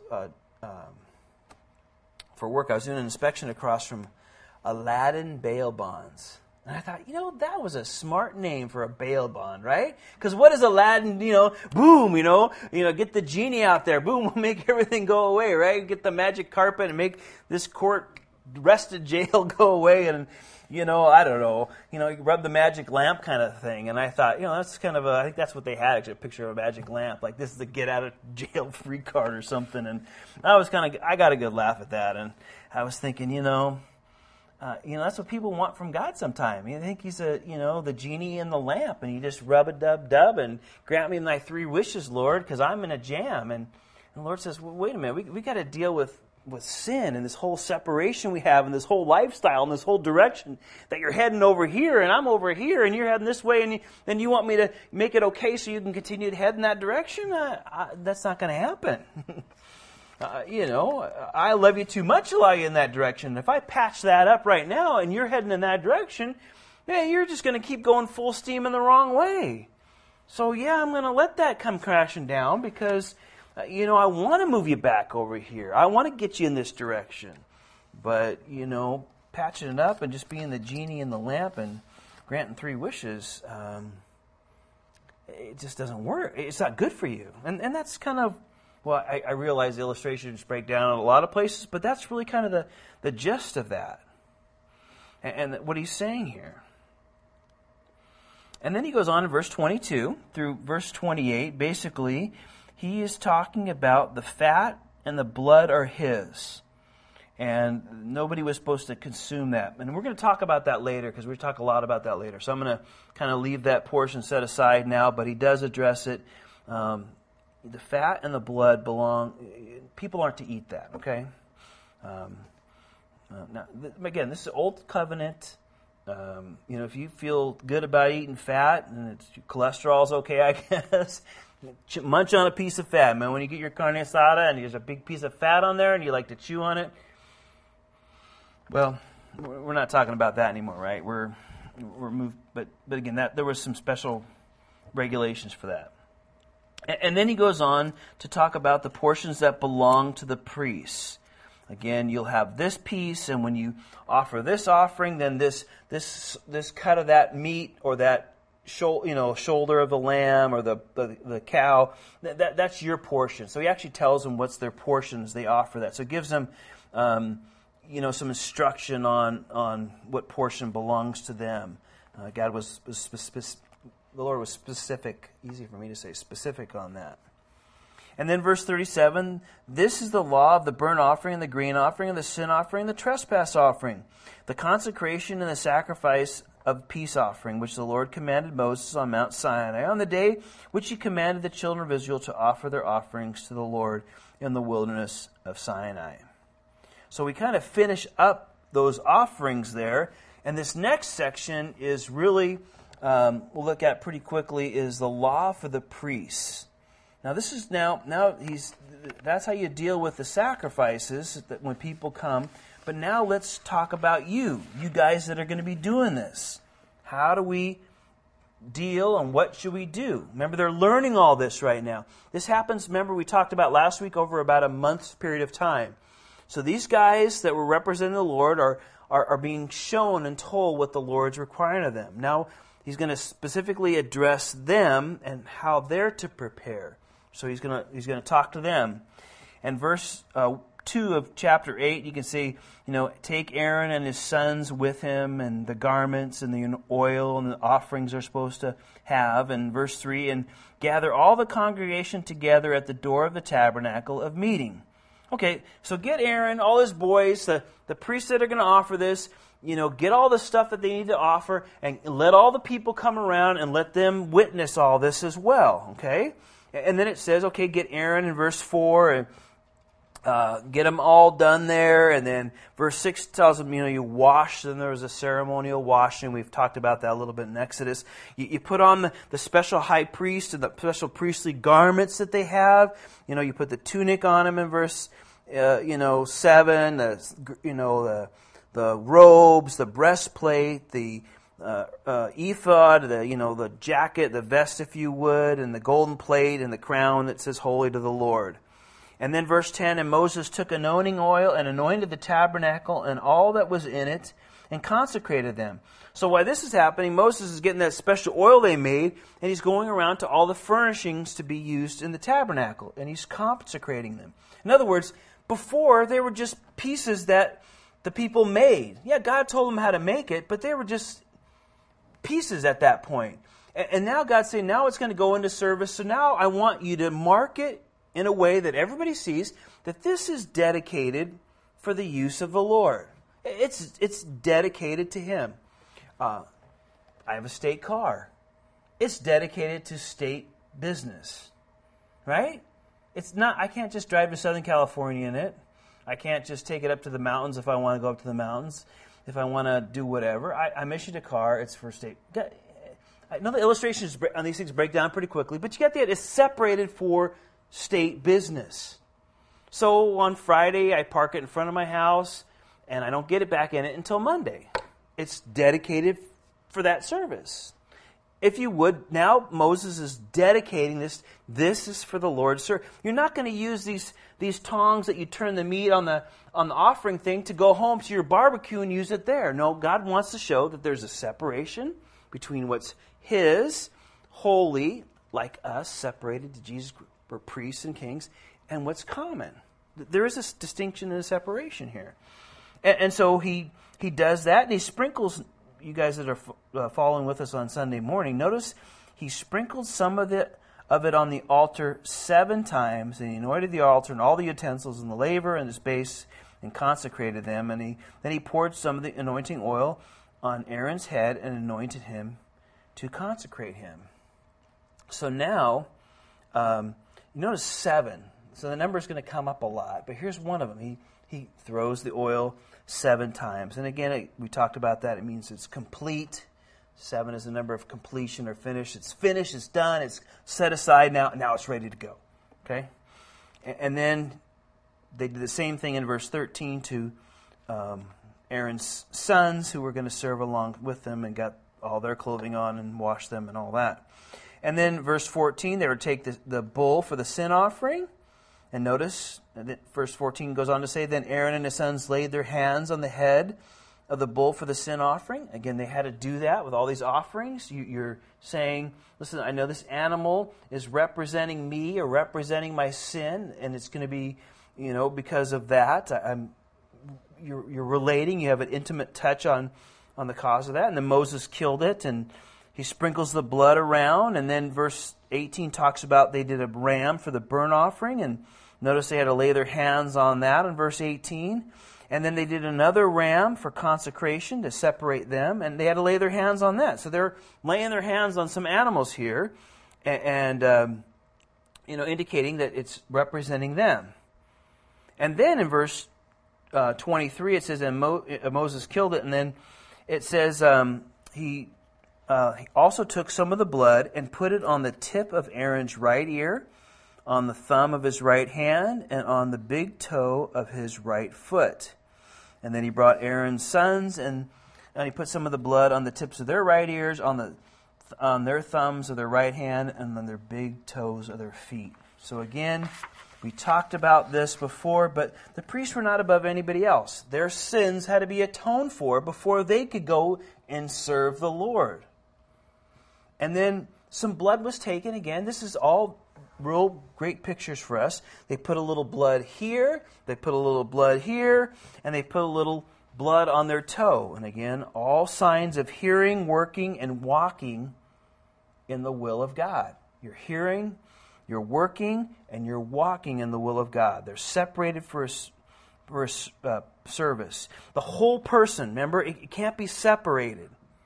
for work, I was doing an inspection across from Aladdin Bail Bonds. And I thought, that was a smart name for a bail bond, right? Because what is Aladdin, boom, get the genie out there, boom, we'll make everything go away, right? Get the magic carpet and make this court arrested jail go away, and, I don't know, you rub the magic lamp kind of thing. And I thought, that's kind of I think that's what they had, actually, a picture of a magic lamp. Like, this is a get out of jail free card or something. And I got a good laugh at that. And I was thinking, that's what people want from God sometimes. You think he's the genie in the lamp, and you just rub a dub and grant me my 3 wishes, Lord, because I'm in a jam. And the Lord says, well, wait a minute, we got to deal with sin and this whole separation we have and this whole lifestyle and this whole direction that you're heading over here and I'm over here and you're heading this way, and then you want me to make it okay so you can continue to head in that direction? That's not going to happen. I love you too much to allow you in that direction. If I patch that up right now and you're heading in that direction, you're just going to keep going full steam in the wrong way. So I'm going to let that come crashing down because, I want to move you back over here. I want to get you in this direction. But, patching it up and just being the genie in the lamp and granting 3 wishes, it just doesn't work. It's not good for you. And that's kind of, I realize the illustrations break down in a lot of places, but that's really kind of the gist of that. And what he's saying here. And then he goes on in verse 22 through verse 28. Basically, he is talking about the fat and the blood are his. And nobody was supposed to consume that. And we're going to talk about that later, because we talk a lot about that later. So I'm going to kind of leave that portion set aside now, but he does address it. The fat and the blood belong, people aren't to eat that, okay? Now, again, this is Old Covenant. If you feel good about eating fat and cholesterol's okay, I guess, munch on a piece of fat, man. When you get your carne asada and there's a big piece of fat on there and you like to chew on it, well, we're not talking about that anymore, right? We're moved, but again, there was some special regulations for that. And then he goes on to talk about the portions that belong to the priests. Again, you'll have this piece, and when you offer this offering, then this cut of that meat or that shoulder of the lamb or the cow, that's your portion. So he actually tells them what's their portions. They offer that. So it gives them some instruction on what portion belongs to them. God was specific. The Lord was specific. Easy for me to say, specific on that. And then verse 37, this is the law of the burnt offering and the grain offering and the sin offering and the trespass offering, the consecration and the sacrifice of peace offering, which the Lord commanded Moses on Mount Sinai on the day which he commanded the children of Israel to offer their offerings to the Lord in the wilderness of Sinai. So we kind of finish up those offerings there. And this next section is really, we'll look at pretty quickly, is the law for the priests. Now this is that's how you deal with the sacrifices that when people come. But now let's talk about you guys that are going to be doing this. How do we deal and what should we do? Remember, they're learning all this right now. This happens, remember, we talked about last week, over about a month's period of time. So these guys that were representing the Lord are being shown and told what the Lord's requiring of them. Now he's going to specifically address them and how they're to prepare. So he's going to talk to them. And verse 2 of chapter 8, you can see, take Aaron and his sons with him, and the garments and the oil and the offerings they're supposed to have. And verse 3, and gather all the congregation together at the door of the tabernacle of meeting. Okay, so get Aaron, all his boys, the priests that are going to offer this, get all the stuff that they need to offer, and let all the people come around and let them witness all this as well, okay? And then it says, okay, get Aaron in verse 4, get them all done there. And then verse 6 tells them, you wash them. There was a ceremonial washing. We've talked about that a little bit in Exodus. You put on the special high priest and the special priestly garments that they have. You put the tunic on them in verse 7, the robes, the breastplate, the ephod, the jacket, the vest, if you would, and the golden plate and the crown that says holy to the Lord. And then verse 10, and Moses took anointing oil and anointed the tabernacle and all that was in it and consecrated them. So while this is happening, Moses is getting that special oil they made, and he's going around to all the furnishings to be used in the tabernacle, and he's consecrating them. In other words, before they were just pieces that the people made. Yeah, God told them how to make it, but they were just pieces at that point. And now God's saying, now it's going to go into service, so now I want you to mark it in a way that everybody sees that this is dedicated for the use of the Lord. It's dedicated to Him. I have a state car. It's dedicated to state business. Right? It's not. I can't just drive to Southern California in it. I can't just take it up to the mountains if I want to go up to the mountains. If I want to do whatever. I'm issued a car. It's for state. I know the illustrations on these things break down pretty quickly, but you get the idea. It's separated for state business. So on Friday, I park it in front of my house, and I don't get it back in it until Monday. It's dedicated for that service. If you would, now Moses is dedicating this. This is for the Lord's service. You're not going to use these tongs that you turn the meat on the offering thing to go home to your barbecue and use it there. No, God wants to show that there's a separation between what's His, holy, like us, separated to Jesus, we're priests and kings, and what's common. There is a distinction and a separation here. And so he does that, and he sprinkles, you guys that are following with us on Sunday morning, notice he sprinkled some of it on the altar 7 times, and he anointed the altar and all the utensils and the laver and its base and consecrated them. And then he poured some of the anointing oil on Aaron's head and anointed him to consecrate him. So now, you notice 7. So the number is going to come up a lot, but here's one of them. He throws the oil 7 times. And again, we talked about that. It means it's complete. 7 is the number of completion or finish. It's finished, it's done, it's set aside now it's ready to go. Okay? And then they did the same thing in verse 13 to Aaron's sons who were going to serve along with them and got all their clothing on and wash them and all that. And then verse 14, they would take the bull for the sin offering. And notice, verse 14 goes on to say, then Aaron and his sons laid their hands on the head of the bull for the sin offering. Again, they had to do that with all these offerings. You're saying, listen, I know this animal is representing me or representing my sin, and it's going to be, because of that. You're relating. You have an intimate touch on the cause of that. And then Moses killed it, and he sprinkles the blood around. And then verse 18 talks about they did a ram for the burnt offering, and notice they had to lay their hands on that in verse 18. And then they did another ram for consecration to separate them, and they had to lay their hands on that. So they're laying their hands on some animals here, and indicating that it's representing them. And then in verse 23 it says, and Moses killed it, and then it says he also took some of the blood and put it on the tip of Aaron's right ear, on the thumb of his right hand, and on the big toe of his right foot. And then he brought Aaron's sons, and he put some of the blood on the tips of their right ears, on their thumbs of their right hand, and on their big toes of their feet. So again, we talked about this before, but the priests were not above anybody else. Their sins had to be atoned for before they could go and serve the Lord. And then some blood was taken. Again, this is all real great pictures for us. They put a little blood here, they put a little blood here, and they put a little blood on their toe. And again, all signs of hearing, working, and walking in the will of God. You're hearing, you're working, and you're walking in the will of God. They're separated for a service. The whole person, remember, it can't be separated.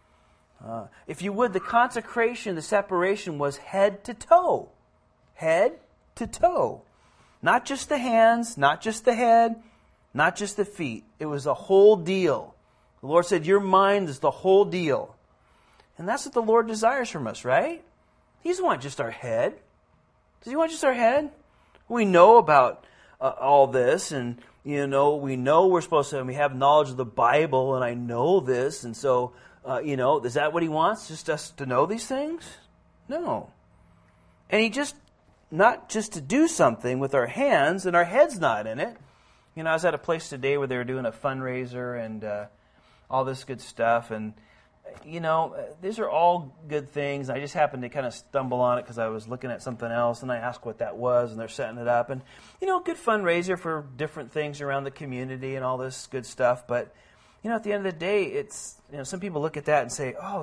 If you would, the consecration, the separation was head to toe. Head to toe. Not just the hands, not just the head, not just the feet. It was a whole deal. The Lord said, your mind is the whole deal. And that's what the Lord desires from us, right? He doesn't want just our head. Does He want just our head? We know about all this, and we know we're supposed to, and we have knowledge of the Bible, and I know this, and so, is that what He wants? Just us to know these things? No. And He not just to do something with our hands, and our head's not in it. I was at a place today where they were doing a fundraiser and all this good stuff, and these are all good things. I just happened to kind of stumble on it because I was looking at something else, and I asked what that was, and they're setting it up. And, good fundraiser for different things around the community and all this good stuff. But, at the end of the day, it's, some people look at that and say, oh,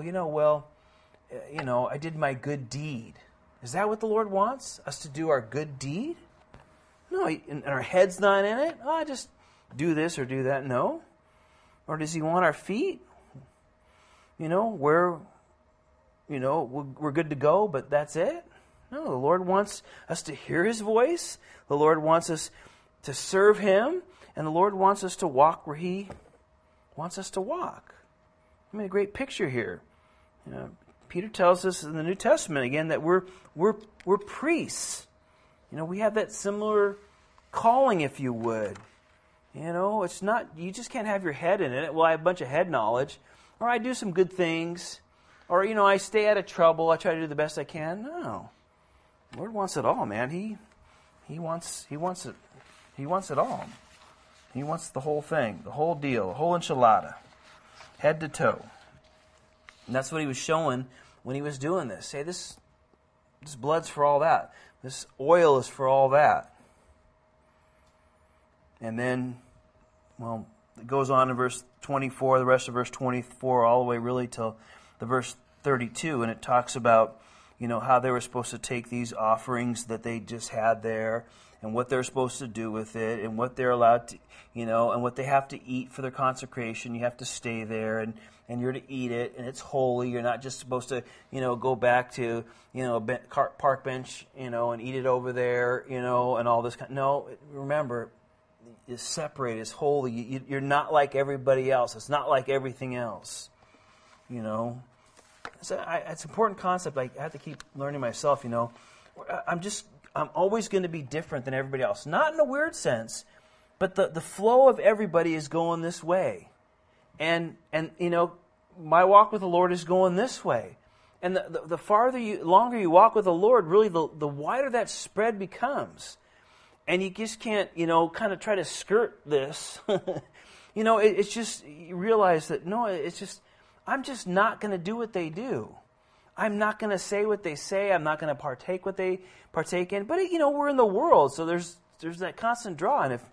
I did my good deed. Is that what the Lord wants? Us to do our good deed? No, and our head's not in it? Oh, I just do this or do that. No. Or does He want our feet? We're good to go, but that's it? No, the Lord wants us to hear His voice. The Lord wants us to serve Him. And the Lord wants us to walk where He wants us to walk. A great picture here. Peter tells us in the New Testament again that we're priests. We have that similar calling, if you would. It's not, you just can't have your head in it. Well, I have a bunch of head knowledge. Or I do some good things. Or, I stay out of trouble. I try to do the best I can. No. The Lord wants it all, man. He wants it. He wants it all. He wants the whole thing, the whole deal, the whole enchilada, head to toe. And that's what He was showing when He was doing this. Say, this blood's for all that. This oil is for all that. And then, it goes on in verse 24, the rest of verse 24, all the way really till the verse 32, and it talks about, how they were supposed to take these offerings that they just had there, and what they're supposed to do with it, and what they're allowed to, and what they have to eat for their consecration. You have to stay there, and you're to eat it, and it's holy. You're not just supposed to, go back to, a park bench, and eat it over there, and all this kind. No, remember, is separated, is holy. You're not like everybody else. It's not like everything else. So it's an important concept. I have to keep learning myself. I'm always going to be different than everybody else. Not in a weird sense, but the flow of everybody is going this way, and my walk with the Lord is going this way. And the longer you walk with the Lord, really the wider that spread becomes. And you just can't, kind of try to skirt this. It's just, you realize that, no, it's just, I'm just not going to do what they do. I'm not going to say what they say. I'm not going to partake what they partake in. But, we're in the world, so there's that constant draw. And if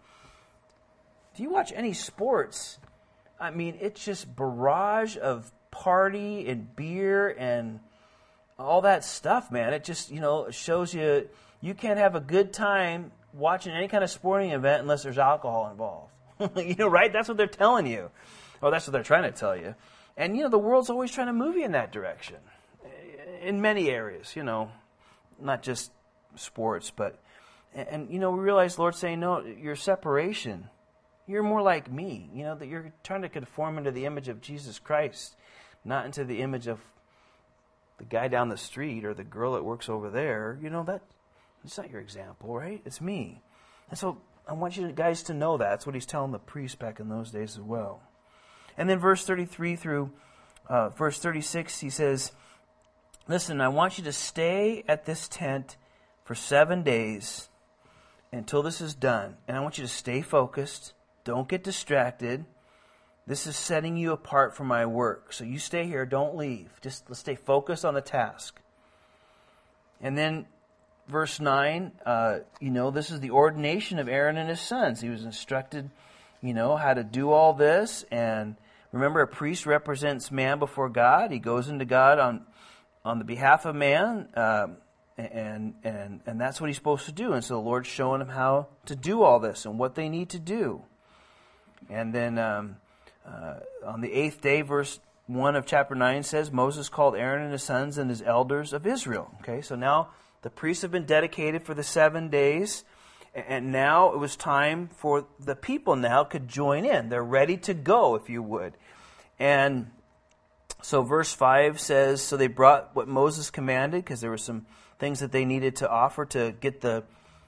you watch any sports, it's just barrage of party and beer and all that stuff, man. It just, shows you can't have a good time watching any kind of sporting event unless there's alcohol involved. Right? That's what they're telling you. Or that's what they're trying to tell you. And, the world's always trying to move you in that direction. In many areas, not just sports, but, and we realize the Lord's saying, no, your separation, you're more like me, that you're trying to conform into the image of Jesus Christ, not into the image of the guy down the street or the girl that works over there. It's not your example, right? It's me. And so I want you guys to know that. That's what He's telling the priests back in those days as well. And then verse 33 through verse 36, He says, listen, I want you to stay at this tent for 7 days until this is done. And I want you to stay focused. Don't get distracted. This is setting you apart from my work. So you stay here. Don't leave. Just let's stay focused on the task. And then verse 9, this is the ordination of Aaron and his sons. He was instructed, how to do all this. And remember, a priest represents man before God. He goes into God on the behalf of man, and that's what he's supposed to do. And so the Lord's showing him how to do all this and what they need to do. And then on the 8th day, verse 1 of chapter 9 says, Moses called Aaron and his sons and his elders of Israel. Okay, so now the priests have been dedicated for the 7 days, And now it was time for the people now could join in. They're ready to go, if you would. And so verse 5 says, so they brought what Moses commanded, because there were some things that they needed to offer to get the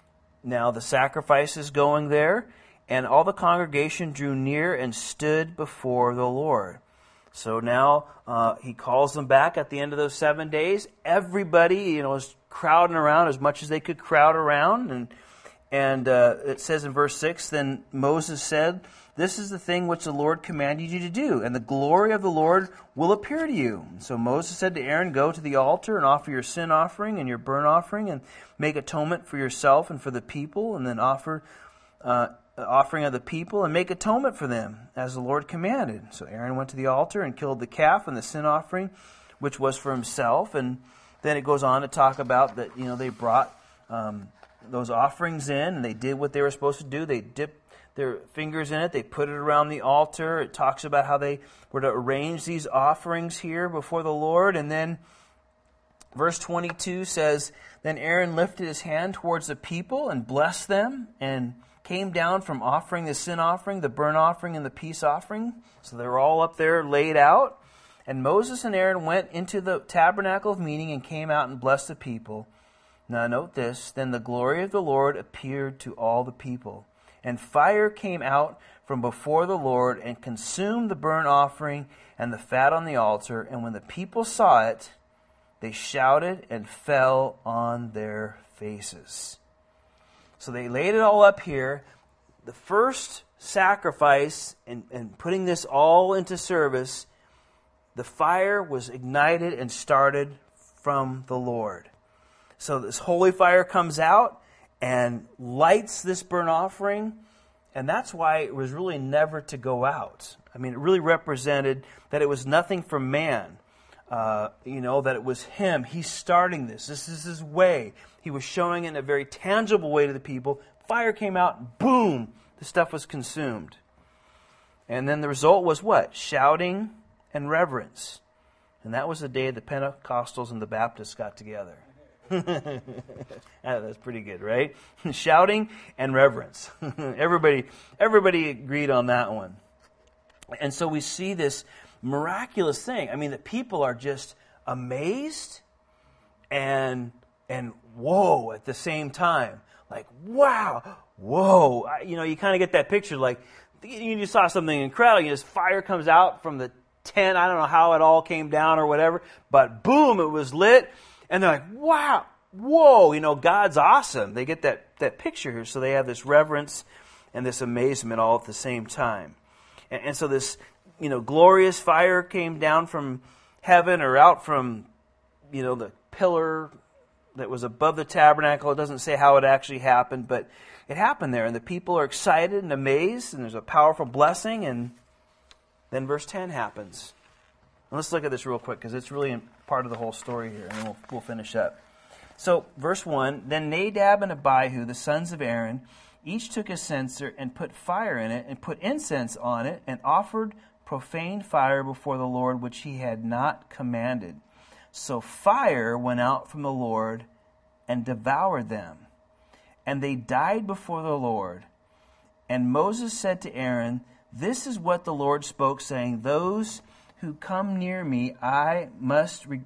sacrifices going there. And all the congregation drew near and stood before the Lord. So now he calls them back at the end of those 7 days. Everybody, is crowding around as much as they could crowd around. And it says in verse 6, then Moses said, this is the thing which the Lord commanded you to do, and the glory of the Lord will appear to you. So Moses said to Aaron, go to the altar and offer your sin offering and your burnt offering, and make atonement for yourself and for the people, and then offer offering of the people, and make atonement for them, as the Lord commanded. So Aaron went to the altar and killed the calf and the sin offering, which was for himself. And then it goes on to talk about that, they brought those offerings in, and they did what they were supposed to do. They dipped their fingers in it. They put it around the altar. It talks about how they were to arrange these offerings here before the Lord. And then verse 22 says, then Aaron lifted his hand towards the people and blessed them, and came down from offering the sin offering, the burnt offering, and the peace offering. So they were all up there laid out. And Moses and Aaron went into the tabernacle of meeting and came out and blessed the people. Now note this, then the glory of the Lord appeared to all the people. And fire came out from before the Lord and consumed the burnt offering and the fat on the altar. And when the people saw it, they shouted and fell on their faces. So they laid it all up here. The first sacrifice and putting this all into service, the fire was ignited and started from the Lord. So this holy fire comes out and lights this burnt offering, and that's why it was really never to go out. I mean, it really represented that it was nothing from man. That it was him. He's starting this. This is his way. He was showing it in a very tangible way to the people. Fire came out, boom, the stuff was consumed. And then the result was what? Shouting and reverence. And that was the day the Pentecostals and the Baptists got together. That's pretty good, right? Shouting and reverence. Everybody agreed on that one. And so we see this miraculous thing. I mean, the people are just amazed and whoa at the same time. Like, wow, whoa. You kind of get that picture like you saw something incredible. This fire comes out from the tent. I don't know how it all came down or whatever, but boom, it was lit. And they're like, wow, whoa, God's awesome. They get that picture here. So they have this reverence and this amazement all at the same time. And so this, glorious fire came down from heaven or out from, the pillar that was above the tabernacle. It doesn't say how it actually happened, but it happened there. And the people are excited and amazed, and there's a powerful blessing. And then verse 10 happens. And let's look at this real quick, because it's really part of the whole story here, and then we'll finish up. So, verse 1, then Nadab and Abihu, the sons of Aaron, each took a censer and put fire in it and put incense on it and offered profane fire before the Lord, which he had not commanded. So fire went out from the Lord and devoured them, and they died before the Lord. And Moses said to Aaron, this is what the Lord spoke, saying, those who come near me, I must be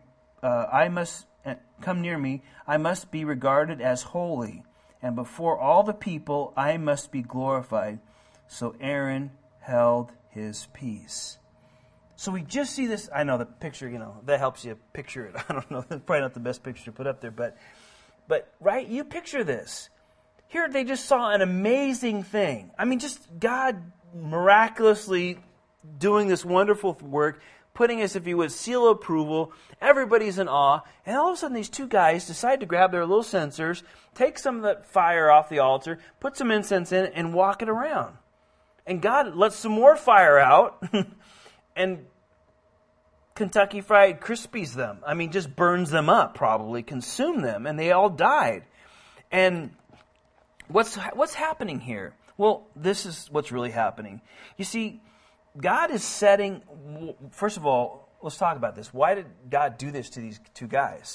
regarded as holy, and before all the people I must be glorified. So Aaron held his peace. So we just see this. I know the picture, that helps you picture it. I don't know, it's probably not the best picture to put up there, but right, you picture this. Here they just saw an amazing thing. I mean, just God miraculously doing this wonderful work, putting us, if you would, seal of approval. Everybody's in awe. And all of a sudden, these two guys decide to grab their little censers, take some of that fire off the altar, put some incense in it, and walk it around. And God lets some more fire out and Kentucky Fried Krispies them. I mean, just burns them up, probably, consume them, and they all died. And what's happening here? Well, this is what's really happening. You see, God is setting, first of all, let's talk about this. Why did God do this to these two guys?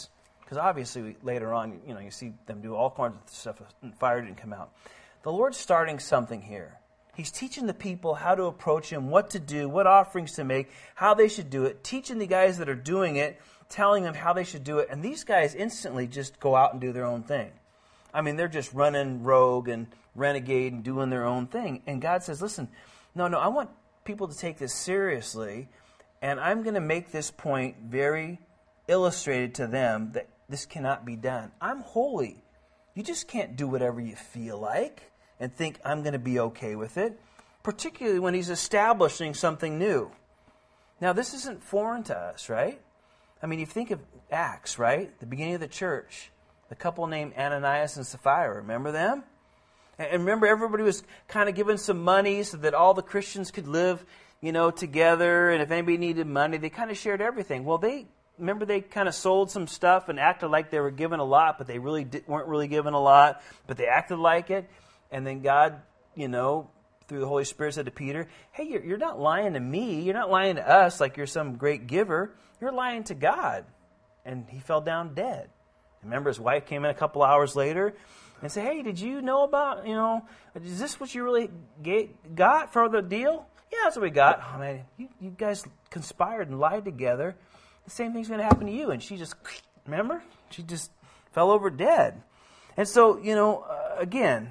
because obviously later on, you see them do all kinds of stuff and fire didn't come out. The Lord's starting something here. He's teaching the people how to approach Him, what to do, what offerings to make, how they should do it, teaching the guys that are doing it, telling them how they should do it, and these guys instantly just go out and do their own thing. I mean, they're just running rogue and renegade and doing their own thing. And God says, listen, no, I want people to take this seriously, and I'm going to make this point very illustrated to them that this cannot be done. I'm holy. You just can't do whatever you feel like and think I'm going to be okay with it, particularly when He's establishing something new. Now, this isn't foreign to us, right? I mean, you think of Acts, right? The beginning of the church. The couple named Ananias and Sapphira, remember them? And remember, everybody was kind of given some money so that all the Christians could live, together. And if anybody needed money, they kind of shared everything. Well, they kind of sold some stuff and acted like they were given a lot, but they really weren't really given a lot. But they acted like it. And then God, through the Holy Spirit said to Peter, hey, you're not lying to me. You're not lying to us like you're some great giver. You're lying to God. And he fell down dead. Remember, his wife came in a couple hours later and said, hey, did you know about, is this what you really got for the deal? Yeah, that's what we got. Oh, man, you guys conspired and lied together. The same thing's going to happen to you. And she just, remember? She just fell over dead. And so, again,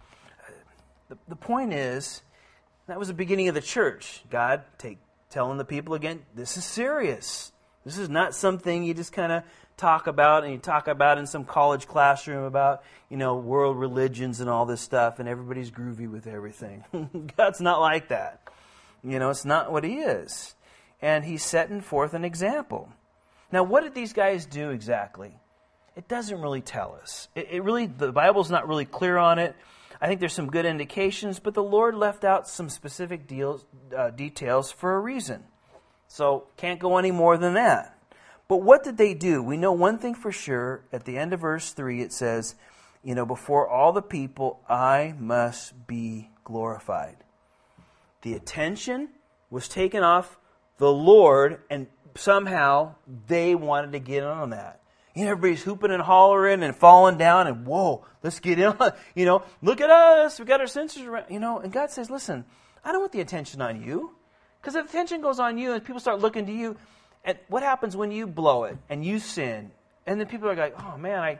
the point is, that was the beginning of the church. God telling the people again, this is serious. This is not something you just kind of talk about, and you talk about in some college classroom about, world religions and all this stuff, and everybody's groovy with everything. God's not like that. It's not what He is. And He's setting forth an example. Now, what did these guys do exactly? It doesn't really tell us. The Bible's not really clear on it. I think there's some good indications, but the Lord left out some specific details for a reason. So, can't go any more than that. But what did they do? We know one thing for sure. At the end of verse 3, it says, before all the people, I must be glorified. The attention was taken off the Lord, and somehow they wanted to get in on that. Everybody's hooping and hollering and falling down, and whoa, let's get in on, look at us, we got our sensors around, and God says, listen, I don't want the attention on you. Because if the attention goes on you and people start looking to you, and what happens when you blow it and you sin? And then people are like, oh man, I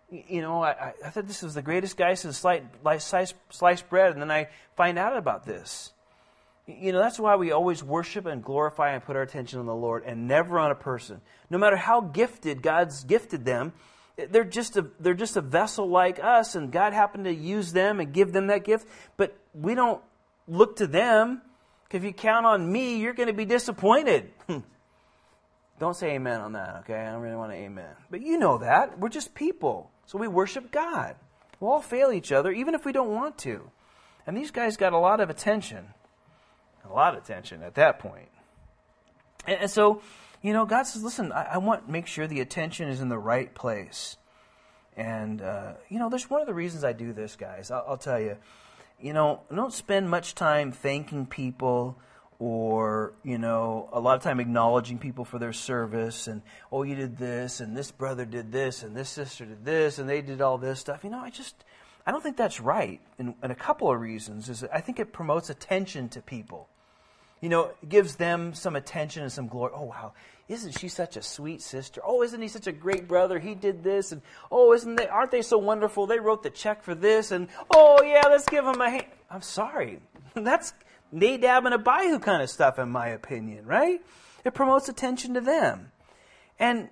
thought this was the greatest guy since sliced bread, and then I find out about this. That's why we always worship and glorify and put our attention on the Lord and never on a person. No matter how gifted God's gifted them, they're just a vessel like us, and God happened to use them and give them that gift, but we don't look to them. If you count on me, you're going to be disappointed. Don't say amen on that, okay? I don't really want to amen. But you know that. We're just people. So we worship God. We'll all fail each other, even if we don't want to. And these guys got a lot of attention. A lot of attention at that point. And so, God says, listen, I want to make sure the attention is in the right place. And, there's one of the reasons I do this, guys. I'll tell you. I don't spend much time thanking people or, a lot of time acknowledging people for their service and, oh, you did this and this brother did this and this sister did this and they did all this stuff. I don't think that's right. And a couple of reasons is I think it promotes attention to people. It gives them some attention and some glory. Oh, wow, isn't she such a sweet sister? Oh, isn't he such a great brother? He did this. And, oh, aren't they so wonderful? They wrote the check for this. And, oh, yeah, let's give them a hand. I'm sorry. That's Nadab and Abihu kind of stuff, in my opinion, right? It promotes attention to them. And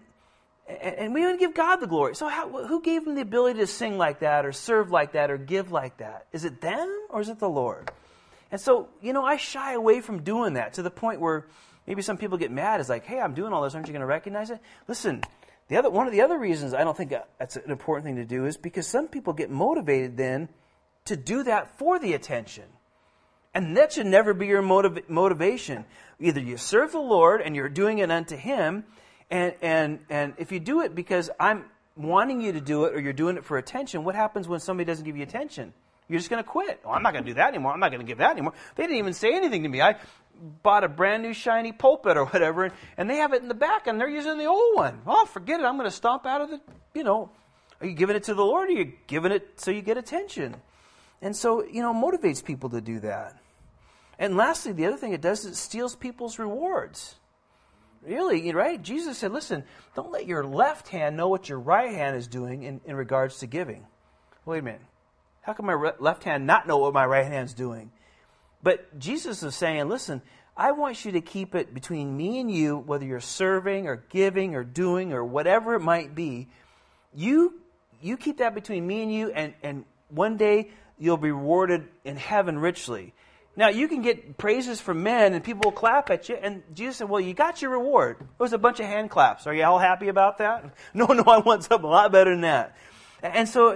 we want to give God the glory. So who gave them the ability to sing like that or serve like that or give like that? Is it them or is it the Lord? And so, I shy away from doing that to the point where maybe some people get mad. It's like, hey, I'm doing all this. Aren't you going to recognize it? Listen, one of the other reasons I don't think that's an important thing to do is because some people get motivated then to do that for the attention. And that should never be your motivation. Either you serve the Lord and you're doing it unto Him, and if you do it because I'm wanting you to do it or you're doing it for attention, what happens when somebody doesn't give you attention? You're just going to quit. Oh, I'm not going to do that anymore. I'm not going to give that anymore. They didn't even say anything to me. I bought a brand new shiny pulpit or whatever, and they have it in the back, and they're using the old one. Oh, forget it. I'm going to stomp out of the, Are you giving it to the Lord, or are you giving it so you get attention? And so, motivates people to do that. And lastly, the other thing it does is it steals people's rewards. Really, right? Jesus said, listen, don't let your left hand know what your right hand is doing in regards to giving. Wait a minute. How can my left hand not know what my right hand is doing? But Jesus is saying, listen, I want you to keep it between me and you, whether you're serving or giving or doing or whatever it might be. You keep that between me and you, and one day you'll be rewarded in heaven richly. Now, you can get praises from men, and people will clap at you. And Jesus said, well, you got your reward. It was a bunch of hand claps. Are you all happy about that? No, I want something a lot better than that. And so,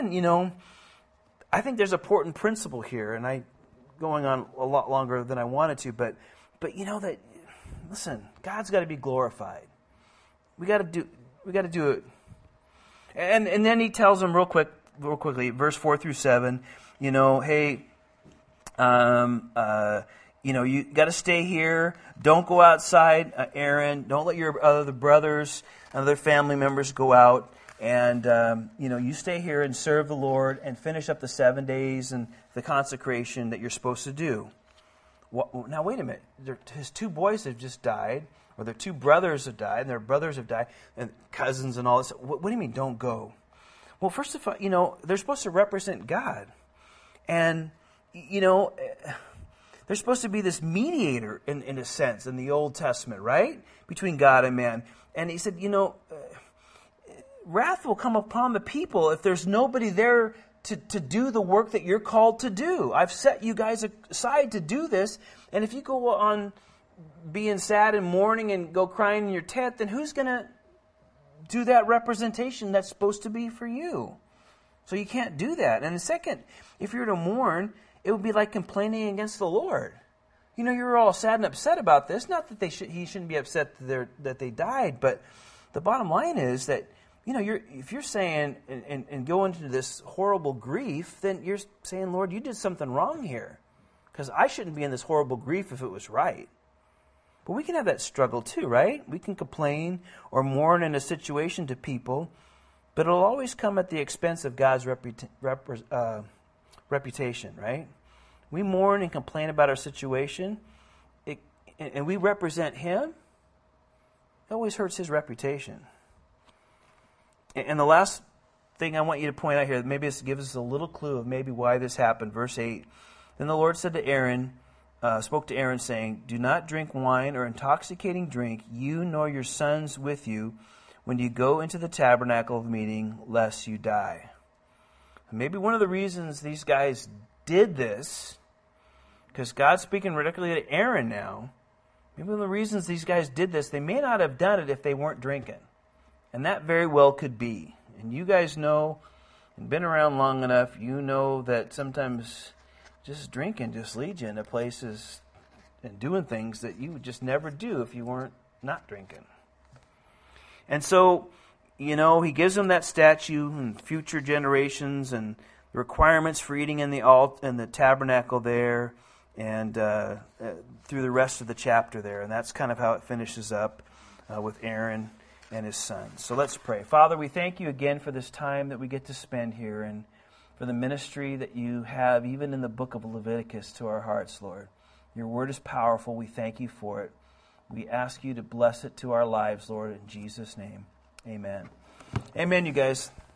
I think there's an important principle here, and I going on a lot longer than I wanted to, but that, listen, God's got to be glorified. We got to do it. And then he tells them real quickly, verse 4 through 7, hey, you got to stay here. Don't go outside, Aaron. Don't let your other brothers and other family members go out. And, you stay here and serve the Lord and finish up the 7 days and the consecration that you're supposed to do. Now, wait a minute. His 2 boys have just died, or their 2 brothers have died, and their brothers have died, and cousins and all this. What do you mean, don't go? Well, first of all, they're supposed to represent God. And, they're supposed to be this mediator, in a sense, in the Old Testament, right? Between God and man. And he said, wrath will come upon the people if there's nobody there to do the work that you're called to do. I've set you guys aside to do this, and if you go on being sad and mourning and go crying in your tent, then who's going to do that representation that's supposed to be for you? So you can't do that. And second, if you're to mourn, it would be like complaining against the Lord. You're all sad and upset about this. Not that he shouldn't be upset that they died, but the bottom line is that if you're saying and go into this horrible grief, then you're saying, Lord, you did something wrong here, because I shouldn't be in this horrible grief if it was right. But we can have that struggle too, right? We can complain or mourn in a situation to people, but it'll always come at the expense of God's reputation, right? We mourn and complain about our situation, and we represent Him. It always hurts His reputation. And the last thing I want you to point out here, maybe this gives us a little clue of maybe why this happened. Verse 8, then the Lord said to Aaron, spoke to Aaron, saying, do not drink wine or intoxicating drink, you nor your sons with you, when you go into the tabernacle of meeting, lest you die. And maybe one of the reasons these guys did this, because God's speaking directly to Aaron now, maybe one of the reasons these guys did this, they may not have done it if they weren't drinking. And that very well could be. And you guys know, and been around long enough, you know that sometimes just drinking just leads you into places and doing things that you would just never do if you weren't not drinking. And so, he gives them that statue and future generations and the requirements for eating in the tabernacle there and through the rest of the chapter there. And that's kind of how it finishes up with Aaron and his sons. So let's pray. Father, we thank you again for this time that we get to spend here and for the ministry that you have even in the book of Leviticus to our hearts, Lord. Your word is powerful. We thank you for it. We ask you to bless it to our lives, Lord, in Jesus' name. Amen. Amen, you guys.